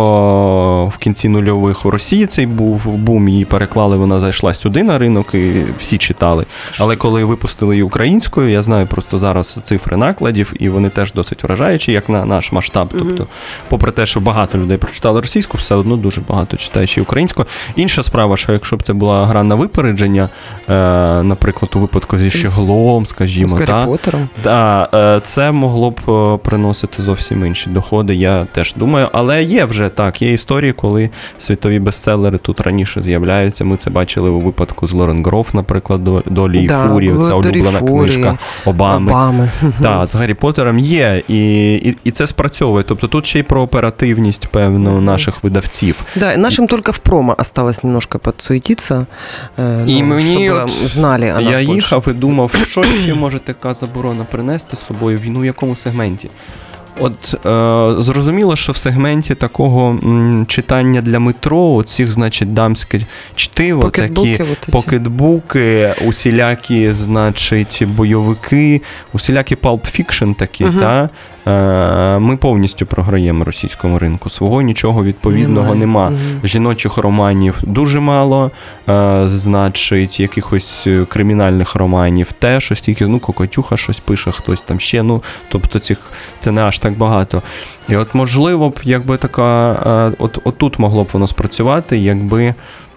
що в кінці нульових в Росії цей був бум, її переклали, вона зайшла сюди на ринок і всі читали. Але коли випустили її українською, я знаю просто зараз цифри накладів, і вони теж досить вражаючі, як на наш масштаб. Тобто, попри те, що багато людей прочитали російську, все одно дуже багато читає ще й українську. Інша справа, що якщо б це була гра на випередження, е, наприклад, у випадку зі Щеглом, скажімо, С Гарри та, Поттером. Да, е, це могло б е, приносити зовсім інші доходи, я теж думаю. Але є вже так, є історії, коли світові бестселери тут раніше з'являються. Ми це бачили у випадку з Лорен Гроф, наприклад, «До- «Долі і Да, фурії», ця «Долі і улюблена фурії», книжка Обами. Обами. Так, з Гаррі Поттером є, і, і, і це спрацьовує. Тобто тут ще й про оперативність, певно, наших видавців. Да, нашим только в промо осталось немножко подсуетиться, э, І ну, мені чтобы от знали о нас я больше. їхав і думав, що ще може така заборона принести з собою, в ну, в якому сегменті. От е, зрозуміло, що в сегменті такого м, читання для метро, цих, значить, дамське чтиво, Покетбуки такі вот эти. покетбуки, усілякі, значить, бойовики, усілякі палп-фікшн такі, Мгм. та, е, ми повністю програємо російському ринку. Свого нічого відповідного Немає. нема. Мгм. Жіночих романів дуже мало, е, значить, якихось е, кримінальних романів теж, ось тільки, ну, Кокотюха щось пише, хтось там ще, ну, тобто цих, це не аж так багато. І от, можливо б, якби така, е, от, от тут могло б воно спрацювати, якби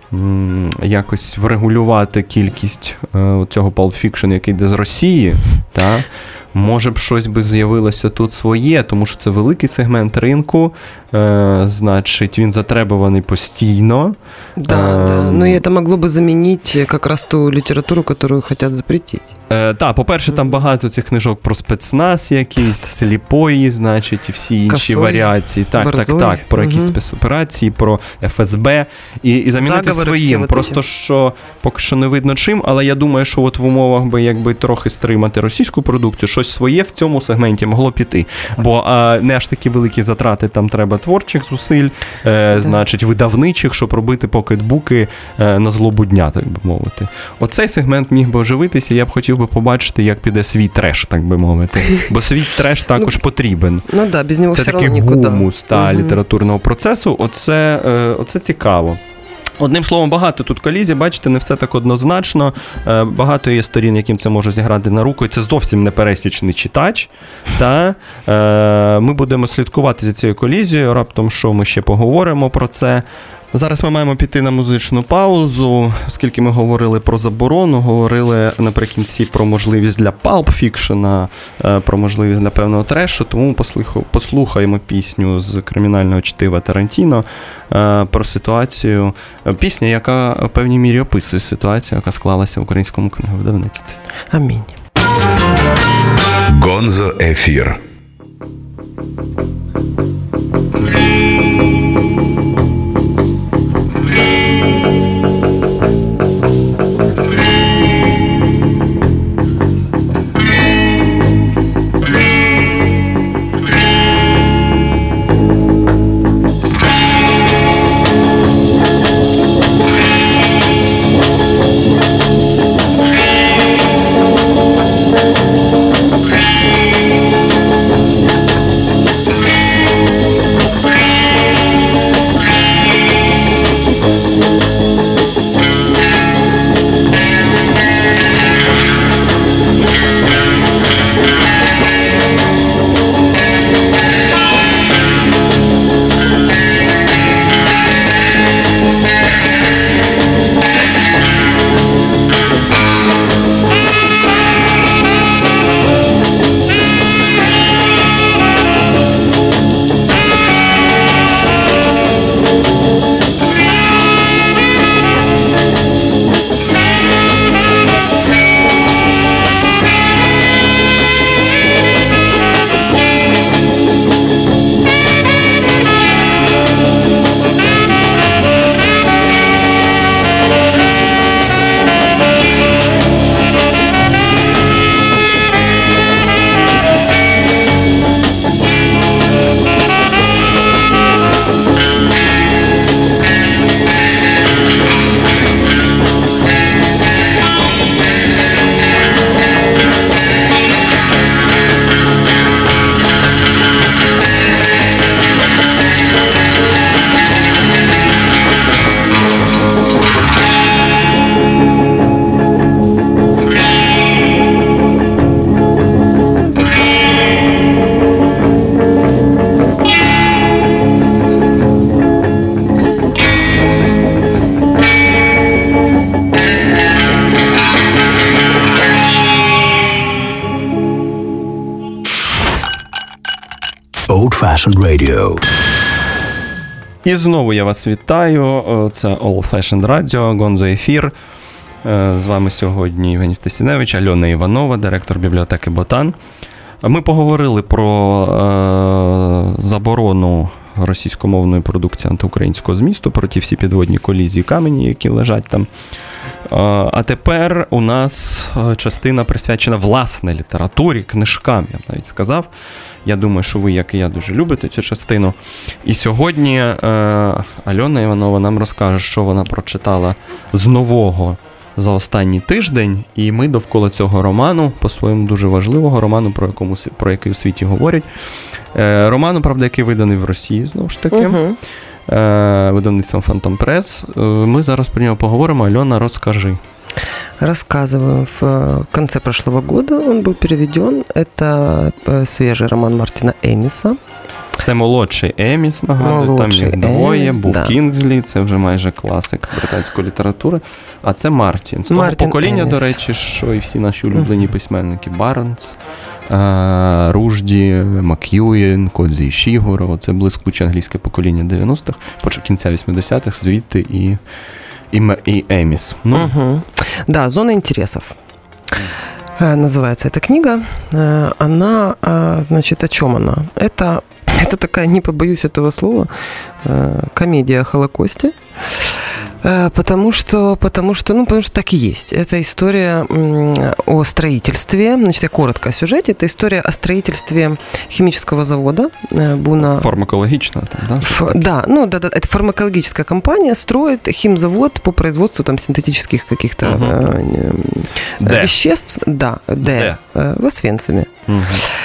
м, якось врегулювати кількість е, цього Pulp Fiction, який йде з Росії, та, може б щось би з'явилося тут своє, тому що це великий сегмент ринку, е, значить, він затребуваний постійно. Да, Эм. да. Но и это могло бы заменить как раз ту литературу, которую хотят запретить. Е, так, по-перше, там багато цих книжок про спецназ якісь, сліпої, значить, і всі інші Косой, варіації. Так, Борзой. так, так, про якісь Мгм. спецоперації, про еф ес бе. І, і замінити Заговори всі своїм. от Просто ці. що поки що не видно чим, але я думаю, що от в умовах би якби трохи стримати російську продукцію, щось щось своє в цьому сегменті могло піти. Бо а, не аж такі великі затрати там треба творчих зусиль, е, значить, видавничих, щоб робити покетбуки е, на злобу дня, так би мовити. Оцей сегмент міг би оживитися, я б хотів би побачити, як піде свій треш, так би мовити. Бо свій треш також потрібен. Ну да, без нього це все такий одно нікуди. гумус та, угу. літературного процесу. Оце, е, оце цікаво. Одним словом, багато тут колізій, бачите, не все так однозначно. Багато є сторін, яким це може зіграти на руку, і це зовсім не пересічний читач. Та? Ми будемо слідкувати за цією колізією, раптом що ми ще поговоримо про це. Зараз ми маємо піти на музичну паузу, оскільки ми говорили про заборону, говорили наприкінці про можливість для палп-фікшена, про можливість для певного трешу, тому послухаємо пісню з кримінального чтива Тарантіно про ситуацію, пісня, яка в певній мірі описує ситуацію, яка склалася в українському книговидавництві. Амінь. Гонзо ефір. Old-Fashioned Radio. І знову я вас вітаю. Це Old-Fashioned Radio, Гонзо ефір. З вами сьогодні Євгеній Стасіневич, Альона Іванова, директор бібліотеки Ботан. Ми поговорили про е, заборону російськомовної продукції антиукраїнського змісту, про ті всі підводні колізії камені, які лежать там. А тепер у нас частина присвячена власне літературі, книжкам, я навіть сказав. Я думаю, що ви, як і я, дуже любите цю частину. І сьогодні е, Альона Іванова нам розкаже, що вона прочитала з нового за останній тиждень, і ми довкола цього роману, по-своєму дуже важливого роману, про, якому, про який у світі говорять. Е, роману, правда, який виданий в Росії, знову ж таки. Uh-huh. Видавництвом Phantom Press. Мы зараз про него поговорим. Алена, расскажи. Рассказываю. В конце прошлого года он был переведен. Это свежий роман Мартина Еміса. Це молодший Еміс, нагадую, там їх двоє, Еміс, був да. Кінгзлі, це вже майже класик британської літератури, а це Мартін. З того Мартін покоління, Еміс. До речі, що і всі наші улюблені mm-hmm. письменники Барнс, Ружді, Мак'юєн, Кодзі Ішігуро, це блискуче англійське покоління дев'яностих, кінця вісімдесятих, звідти і, і, і Еміс. Ну. Mm-hmm. Да, «Зона интересов». Называется эта книга. Она, значит, о чем она? Это, это такая, не побоюсь этого слова, комедия о Холокосте. Э, Потому что, потому что, ну, потому что так и есть. Это история м, о строительстве. Значит, я коротко о сюжете. Это история о строительстве химического завода э, Буна. Фармакологічно там, да? Ф- да, ну да, да, это фармакологическая компания строит химзавод по производству там синтетических каких-то Мгм. э, э, Де? веществ. Да, Д, Де? э, в Освенциме. Мгм.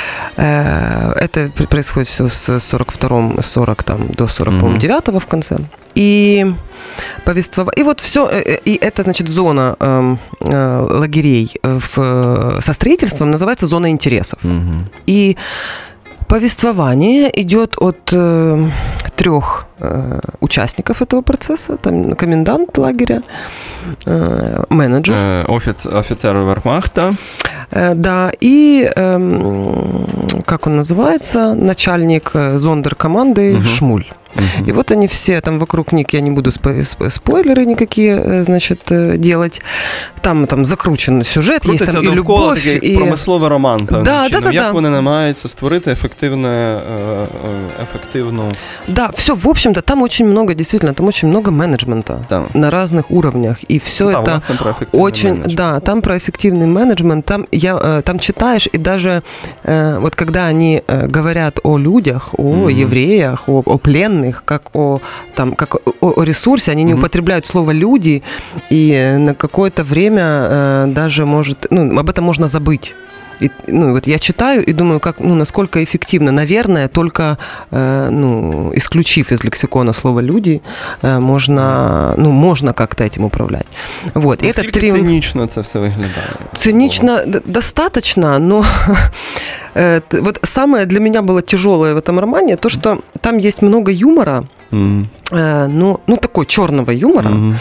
Э, Это пр- происходит все с сорок второго, сорок там, до сорок Мгм. девятого в конце. И повествование. И вот все, и это, значит, зона эм, э, лагерей э, в, со строительством называется зона интересов. Мгм. И повествование идет от э, трех э, участников этого процесса. Там комендант лагеря, э, менеджер. Е, Офіц, офіцер Вермахта. Э, Да, и, эм, как он называется, начальник э, зондеркоманды Мгм. Шмуль. Мгм. И вот они все там вокруг них, я не буду спо- сп- спойлеры никакие, э, значит, э, делать. Там, там закручен сюжет, есть Крутиться там и довкола любовь, такий і... промисловий роман. певним Да, чином. да, да, Як да. вони намагаються створити ефективне, е, е, ефективну... Да, все, в общем-то, там очень много, действительно, там очень много менеджмента Там. на разных уровнях, и все Да, это власне, про ефективний очень, менеджмент. да, там про эффективный менеджмент, там я, э, там читаешь, и даже э, вот когда они э, говорят о людях, о Мгм. евреях, о, о пленных, как о там, как о, о ресурсе, они не Мгм. употребляют слово люди, и э, на какое-то время э, даже может, ну, об этом можно забыть. И, ну, вот я читаю и думаю, как, ну, насколько эффективно. Наверное, только э, ну, исключив из лексикона слово «люди», э, можно, ну, можно как-то этим управлять. Вот. И это Наскільки три... цинічно це все виглядає? Цинично д- достаточно, но э, т- вот самое для меня было тяжелое в этом романе, то, что там есть много юмора, Мгм. э, ну, ну, такой черного юмора. Мгм.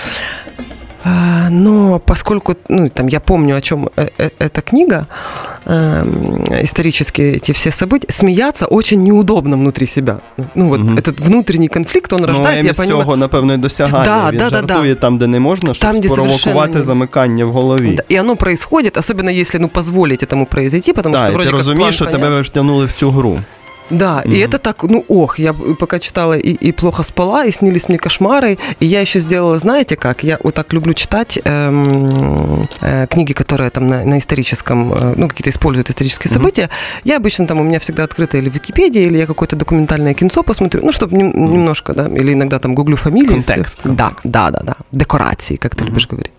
А, Но поскольку, ну, там, я помню, о чем э- э- эта книга, эм, исторические эти все события, смеяться очень неудобно внутри себя. Ну, вот Мгм. этот внутренний конфликт, он Ну, рождает, Емі я з понимаю... цього, напевно, і досягає. Да, Він да, да, жартує там, де не можна, щоб Там, де совершенно спровокувати не- замикання в голові. Да, и оно происходит, особенно если, ну, позволить этому произойти, потому Так, что і вроде ти как план розумієш, що понятен. тебе втягнули в цю гру. Да, Мгм. и это так, ну, ох, я пока читала и, и плохо спала, и снились мне кошмары, и я еще сделала, знаете как, я вот так люблю читать эм, э, книги, которые там на, на историческом, э, ну, какие-то используют исторические Мгм. события. Я обычно там, у меня всегда открыто или Википедия, или я какое-то документальное кинцо посмотрю, ну, чтобы нем- немножко, да, или иногда там гуглю фамилии. Контекст, Да, контекст. да, да, да, декорации, как ты Мгм. любишь говорить.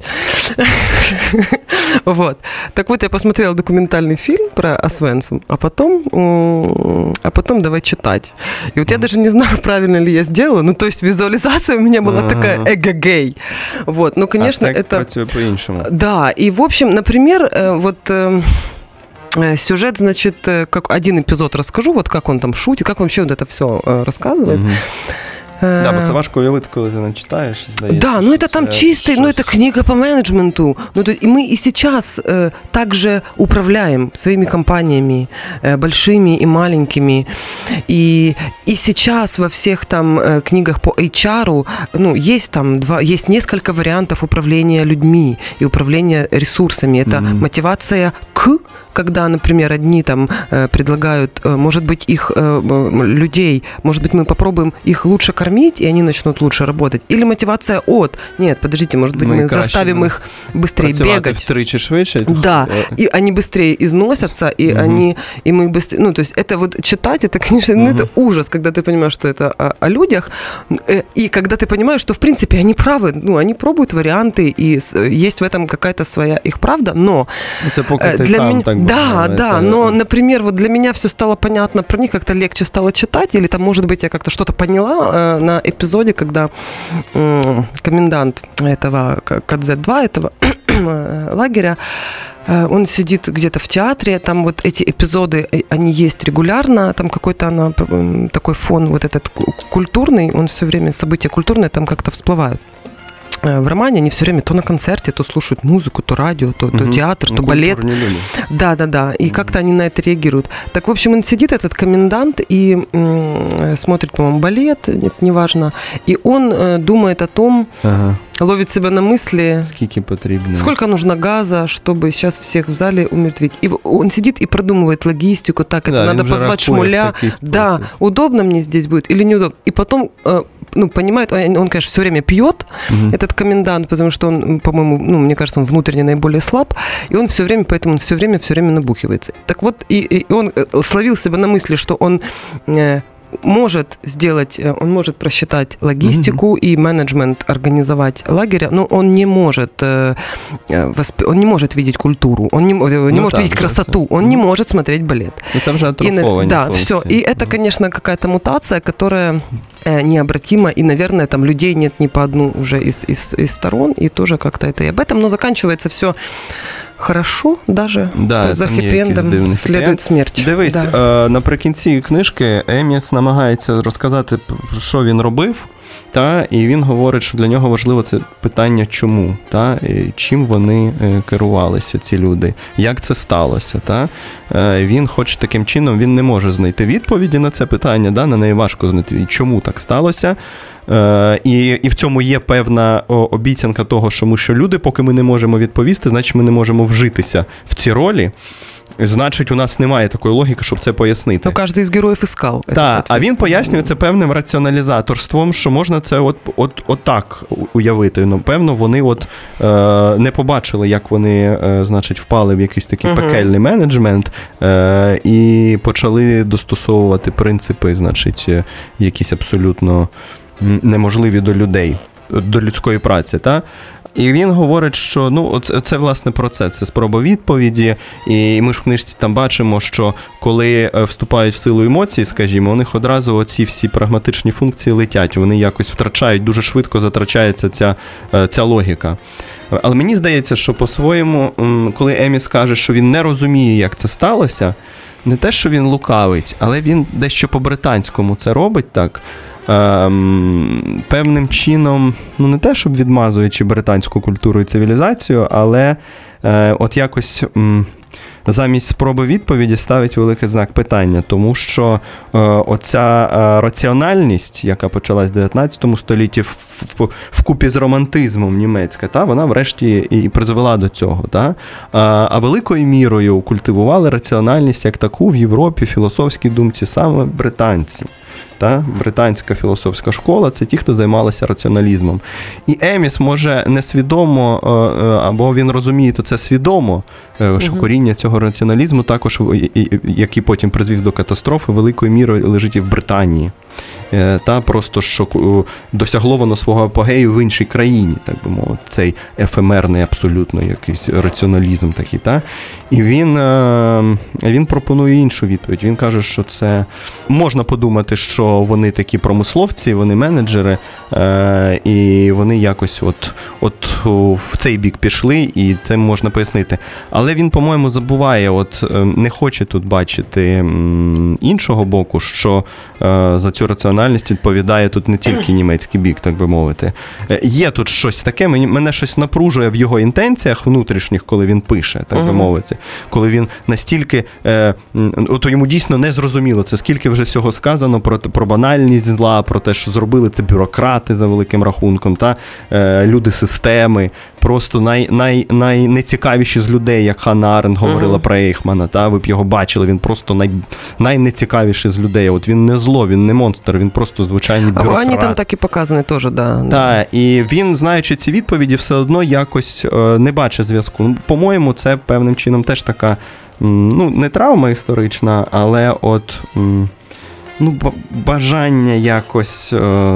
Вот. Так вот, я посмотрела документальный фильм про Освенцим, а потом, м, а потом давай читать. И вот я даже не знаю, правильно ли я сделала. Ну, то есть визуализация у меня была Ага. такая эгегей. Вот. Ну, конечно, а текст это... працює по-іншому. Да, и, в общем, например, э, вот... э, э, Сюжет, значит, э, как один эпизод расскажу, вот как он там шутит, как вообще вот это все рассказывает. Мгм. Э, Да, бо це важко уявити, коли ти не читаєш, здається. Да, ну що это там це чистый, ну щось- это книга по менеджменту. Ну, то, и мы и сейчас э, также управляем своими компаниями, э, большими и маленькими. И, и сейчас во всех там э, книгах по эйч ар, ну, есть там два, есть несколько вариантов управления людьми и управления ресурсами. Это Мгм. мотивация к, когда, например, одни там э, предлагают, э, может быть, их э, м, людей, может быть, мы попробуем их лучше кормить, и они начнут лучше работать. Или мотивация от, нет, подождите, может быть, Мы мы, краще заставим будем их быстрее Працювати бегать. втричі швидше. Да, Е, и они быстрее износятся, и Мгм. они, и мы быстрее, ну, то есть это вот читать, это, конечно, ну, Мгм. это ужас, когда ты понимаешь, что это о, о людях, э, и когда ты понимаешь, что, в принципе, они правы, ну, они пробуют варианты, и с- есть в этом какая-то своя их правда, но Це поки Э, ти для сам меня, так да, буває, да, це- но, например, вот для меня все стало понятно про них, как-то легче стало читать, или там, может быть, я как-то что-то поняла э, на эпизоде, когда м, комендант этого К- КЗ два, этого э, лагеря, э, он сидит где-то в театре, там вот эти эпизоды, э, они есть регулярно, там какой-то она, м, такой фон вот этот ку- культурный, он все время, события культурные там как-то всплывают. Э, В романе они все время то на концерте, то слушают музыку, то радио, то, то Мгм. театр, Ну, то балет. культурні люди. Да, да, да. И как-то они на это реагируют. Так, в общем, он сидит, этот комендант, и м, смотрит, по-моему, балет, нет, неважно. И он э, думает о том, Ага. ловит себя на мысли, Скільки потрібно. сколько нужно газа, чтобы сейчас всех в зале умертвить. И он сидит и продумывает логистику, так, это Да, надо він вже позвать рахує в Шмуля. такий спосіб. Да, удобно мне здесь будет или неудобно. И потом, э, ну, понимает, он, он, конечно, все время пьет, mm-hmm. этот комендант, потому что он, по-моему, ну, мне кажется, он внутренне наиболее слаб, и он все время, поэтому он все время, все время набухивается. Так вот, и, и он словил себя на мысли, что он э, может сделать, он может просчитать логистику mm-hmm. и менеджмент организовать лагеря, но он не может, э, восп... он не может видеть культуру, он не, не ну, может да, видеть красоту, он mm-hmm. не может смотреть балет. Это уже атрофованные Да, функции. все. И это, конечно, какая-то мутация, которая э, необратима, и, наверное, там людей нет ни по одну уже из, из, из сторон, и тоже как-то это и об этом, но заканчивается все хорошо, даже да, за хеппі-ендом слідує смерть. Дивись, да. е, наприкінці книжки Еміс намагається розказати, що він робив, та, і він говорить, що для нього важливо це питання чому, та, і чим вони е, керувалися, ці люди, як це сталося. Та. Е, він хоч таким чином, він не може знайти відповіді на це питання, да, на неї важко знайти, чому так сталося. Е, і, і в цьому є певна о, обіцянка того, що ми, що люди, поки ми не можемо відповісти, значить ми не можемо вжитися в ці ролі. Значить, у нас немає такої логіки, щоб це пояснити. Ну, кожен із героїв іскав. Так, а він пояснює це певним раціоналізаторством, що можна це от, от, от так уявити. Ну, певно, вони от, е, не побачили, як вони, е, значить, впали в якийсь такий uh-huh. пекельний менеджмент е, і почали достосовувати принципи, значить, якісь абсолютно неможливі до людей, до людської праці, так? І він говорить, що ну, це, це власне про це, це спроба відповіді, і ми ж в книжці там бачимо, що коли вступають в силу емоції, скажімо, у них одразу оці всі прагматичні функції летять, вони якось втрачають, дуже швидко затрачається ця, ця логіка. Але мені здається, що по-своєму, коли Еміс каже, що він не розуміє, як це сталося, не те, що він лукавить, але він дещо по-британському це робить так, Ем, певним чином, ну не те, щоб відмазуючи британську культуру і цивілізацію, але е, от якось м, замість спроби відповіді ставить великий знак питання, тому що е, оця е, раціональність, яка почалась в дев'ятнадцятому столітті в, в, вкупі з романтизмом німецька, та, вона врешті і призвела до цього. Та? А, а великою мірою культивували раціональність як таку в Європі, в філософській думці саме британці. Та, британська філософська школа – це ті, хто займалися раціоналізмом. І Еміс може несвідомо, або він розуміє, то це свідомо, що коріння цього раціоналізму також, який потім призвів до катастрофи, великою мірою лежить і в Британії. Та просто, що досягло воно свого апогею в іншій країні, так би мовити, цей ефемерний абсолютно якийсь раціоналізм такий. Та? І він, він пропонує іншу відповідь. Він каже, що це можна подумати, що вони такі промисловці, вони менеджери, і вони якось от, от в цей бік пішли, і це можна пояснити. Але він, по-моєму, забуває, от не хоче тут бачити іншого боку, що за цю раціональність відповідає тут не тільки німецький бік, так би мовити. Є тут щось таке, мене щось напружує в його інтенціях внутрішніх, коли він пише, так би мовити. Коли він настільки, от йому дійсно не зрозуміло, це скільки вже всього сказано про, про банальність зла, про те, що зробили це бюрократи за великим рахунком, та люди системи, просто най, най, найнецікавіші з людей, як Ханна Аренд говорила mm-hmm. про Ейхмана, та, ви б його бачили, він просто най, найнецікавіший з людей. От він не зло, він не монстр, він просто звичайний бюрократ. А вони там так і показані теж, да. Так, і він, знаючи ці відповіді, все одно якось не бачить зв'язку. По-моєму, це певним чином теж така, ну, не травма історична, але от, ну, бажання якось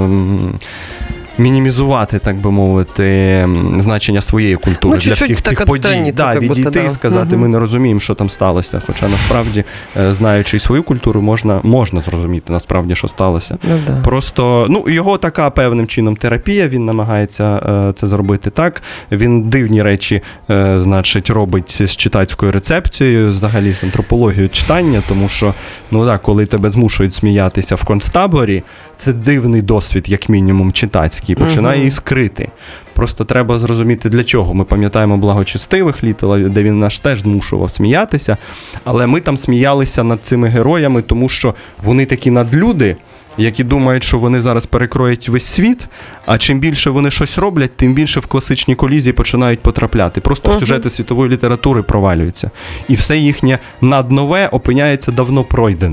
мінімізувати, так би мовити, значення своєї культури ну, для всіх цих подій. Да, відійти і да. сказати, угу. ми не розуміємо, що там сталося. Хоча насправді, знаючи свою культуру, можна, можна зрозуміти насправді, що сталося. Ну, да. Просто, ну, його така певним чином терапія, він намагається це зробити так. Він дивні речі, значить, робить з читацькою рецепцією, взагалі з антропологією читання, тому що, ну так, коли тебе змушують сміятися в концтаборі, це дивний досвід, як мінімум, читацький. І починає її скрити. Просто треба зрозуміти, для чого. Ми пам'ятаємо благочестивих Літела, де він нас теж змушував сміятися, але ми там сміялися над цими героями, тому що вони такі надлюди, які думають, що вони зараз перекроють весь світ, а чим більше вони щось роблять, тим більше в класичні колізії починають потрапляти. Просто uh-huh. сюжети світової літератури провалюються. І все їхнє наднове опиняється давно пройденим.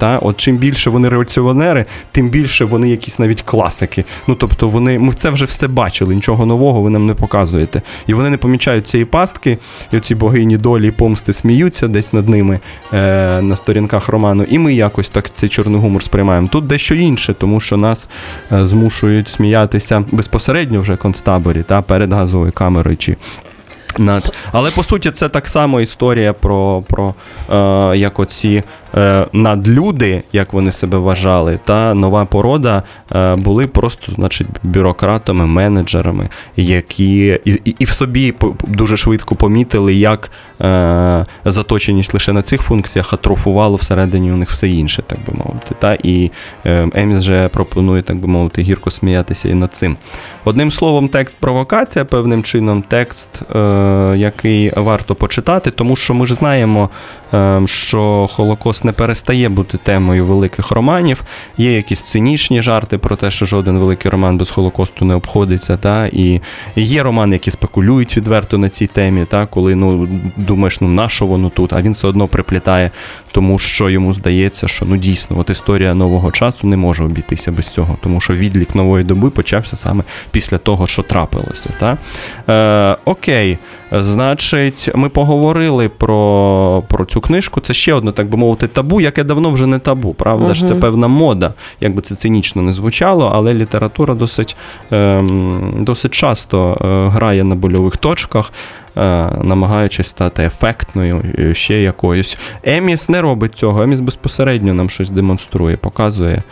Та? От чим більше вони революціонери, тим більше вони якісь навіть класики. Ну, тобто вони, ми це вже все бачили, нічого нового ви нам не показуєте. І вони не помічають цієї пастки, і оці богині долі і помсти сміються десь над ними е, на сторінках роману, і ми якось так цей чорний гумор сприймаємо. Тут дещо інше, тому що нас е, змушують сміятися безпосередньо вже в концтаборі, та, перед газовою камерою чи над. Але, по суті, це так само історія про, про е, як оці е, надлюди, як вони себе вважали, та нова порода е, були просто, значить, бюрократами, менеджерами, які і, і, і в собі дуже швидко помітили, як е, заточеність лише на цих функціях атрофувало всередині у них все інше, так би мовити. Та? І е, Еміс вже пропонує, так би мовити, гірко сміятися і над цим. Одним словом, текст провокація, певним чином, текст, е, який варто почитати, тому що ми ж знаємо, е, що Холокост не перестає бути темою великих романів. Є якісь цинічні жарти про те, що жоден великий роман без Холокосту не обходиться. Та? І є романи, які спекулюють відверто на цій темі, та? Коли ну, думаєш, ну на що воно тут, а він все одно приплітає, тому що йому здається, що ну дійсно, от історія нового часу не може обійтися без цього, тому що відлік нової доби почався саме після того, що трапилося. Та? Е, окей, значить, ми поговорили про, про цю книжку. Це ще одне, так би мовити, табу, яке давно вже не табу, правда угу. ж? Це певна мода, як би це цинічно не звучало, але література досить, е, досить часто е, грає на больових точках, намагаючись стати ефектною, ще якоюсь. Еміс не робить цього, Еміс безпосередньо нам щось демонструє, показує.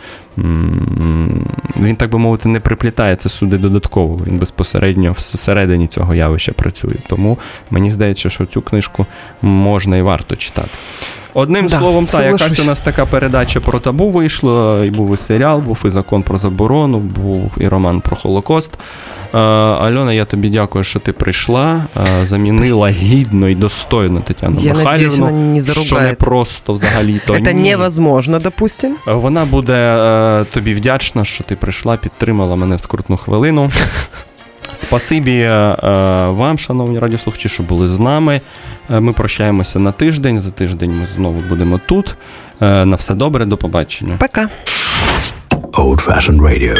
Він, так би мовити, не приплітає це сюди додатково, він безпосередньо всередині цього явища працює. Тому мені здається, що цю книжку можна і варто читати. Одним да, словом, та, якась у нас така передача про табу вийшла, і був і серіал, був і закон про заборону, був і роман про Холокост. А, Альона, я тобі дякую, що ти прийшла, а, замінила Спасибо. Гідно і достойно Тетяну я Михайлівну, надіюсь, не що не просто взагалі-то. Це невозможно, допустим. Вона буде а, тобі вдячна, що ти прийшла, підтримала мене в скрутну хвилину. Спасибі вам, шановні радіослухачі, що були з нами. Ми прощаємося на тиждень. За тиждень ми знову будемо тут. На все добре, до побачення. Пока. Old Fashioned Radio.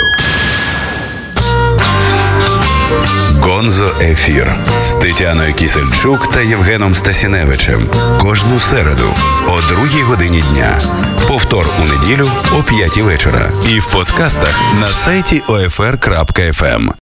Гонзо Ефір з Тетяною Кісельчук та Євгеном Стасіневичем. Кожну середу о другій годині дня. Повтор у неділю о п'ятій вечора. І в подкастах на сайті о еф ер крапка еф ем.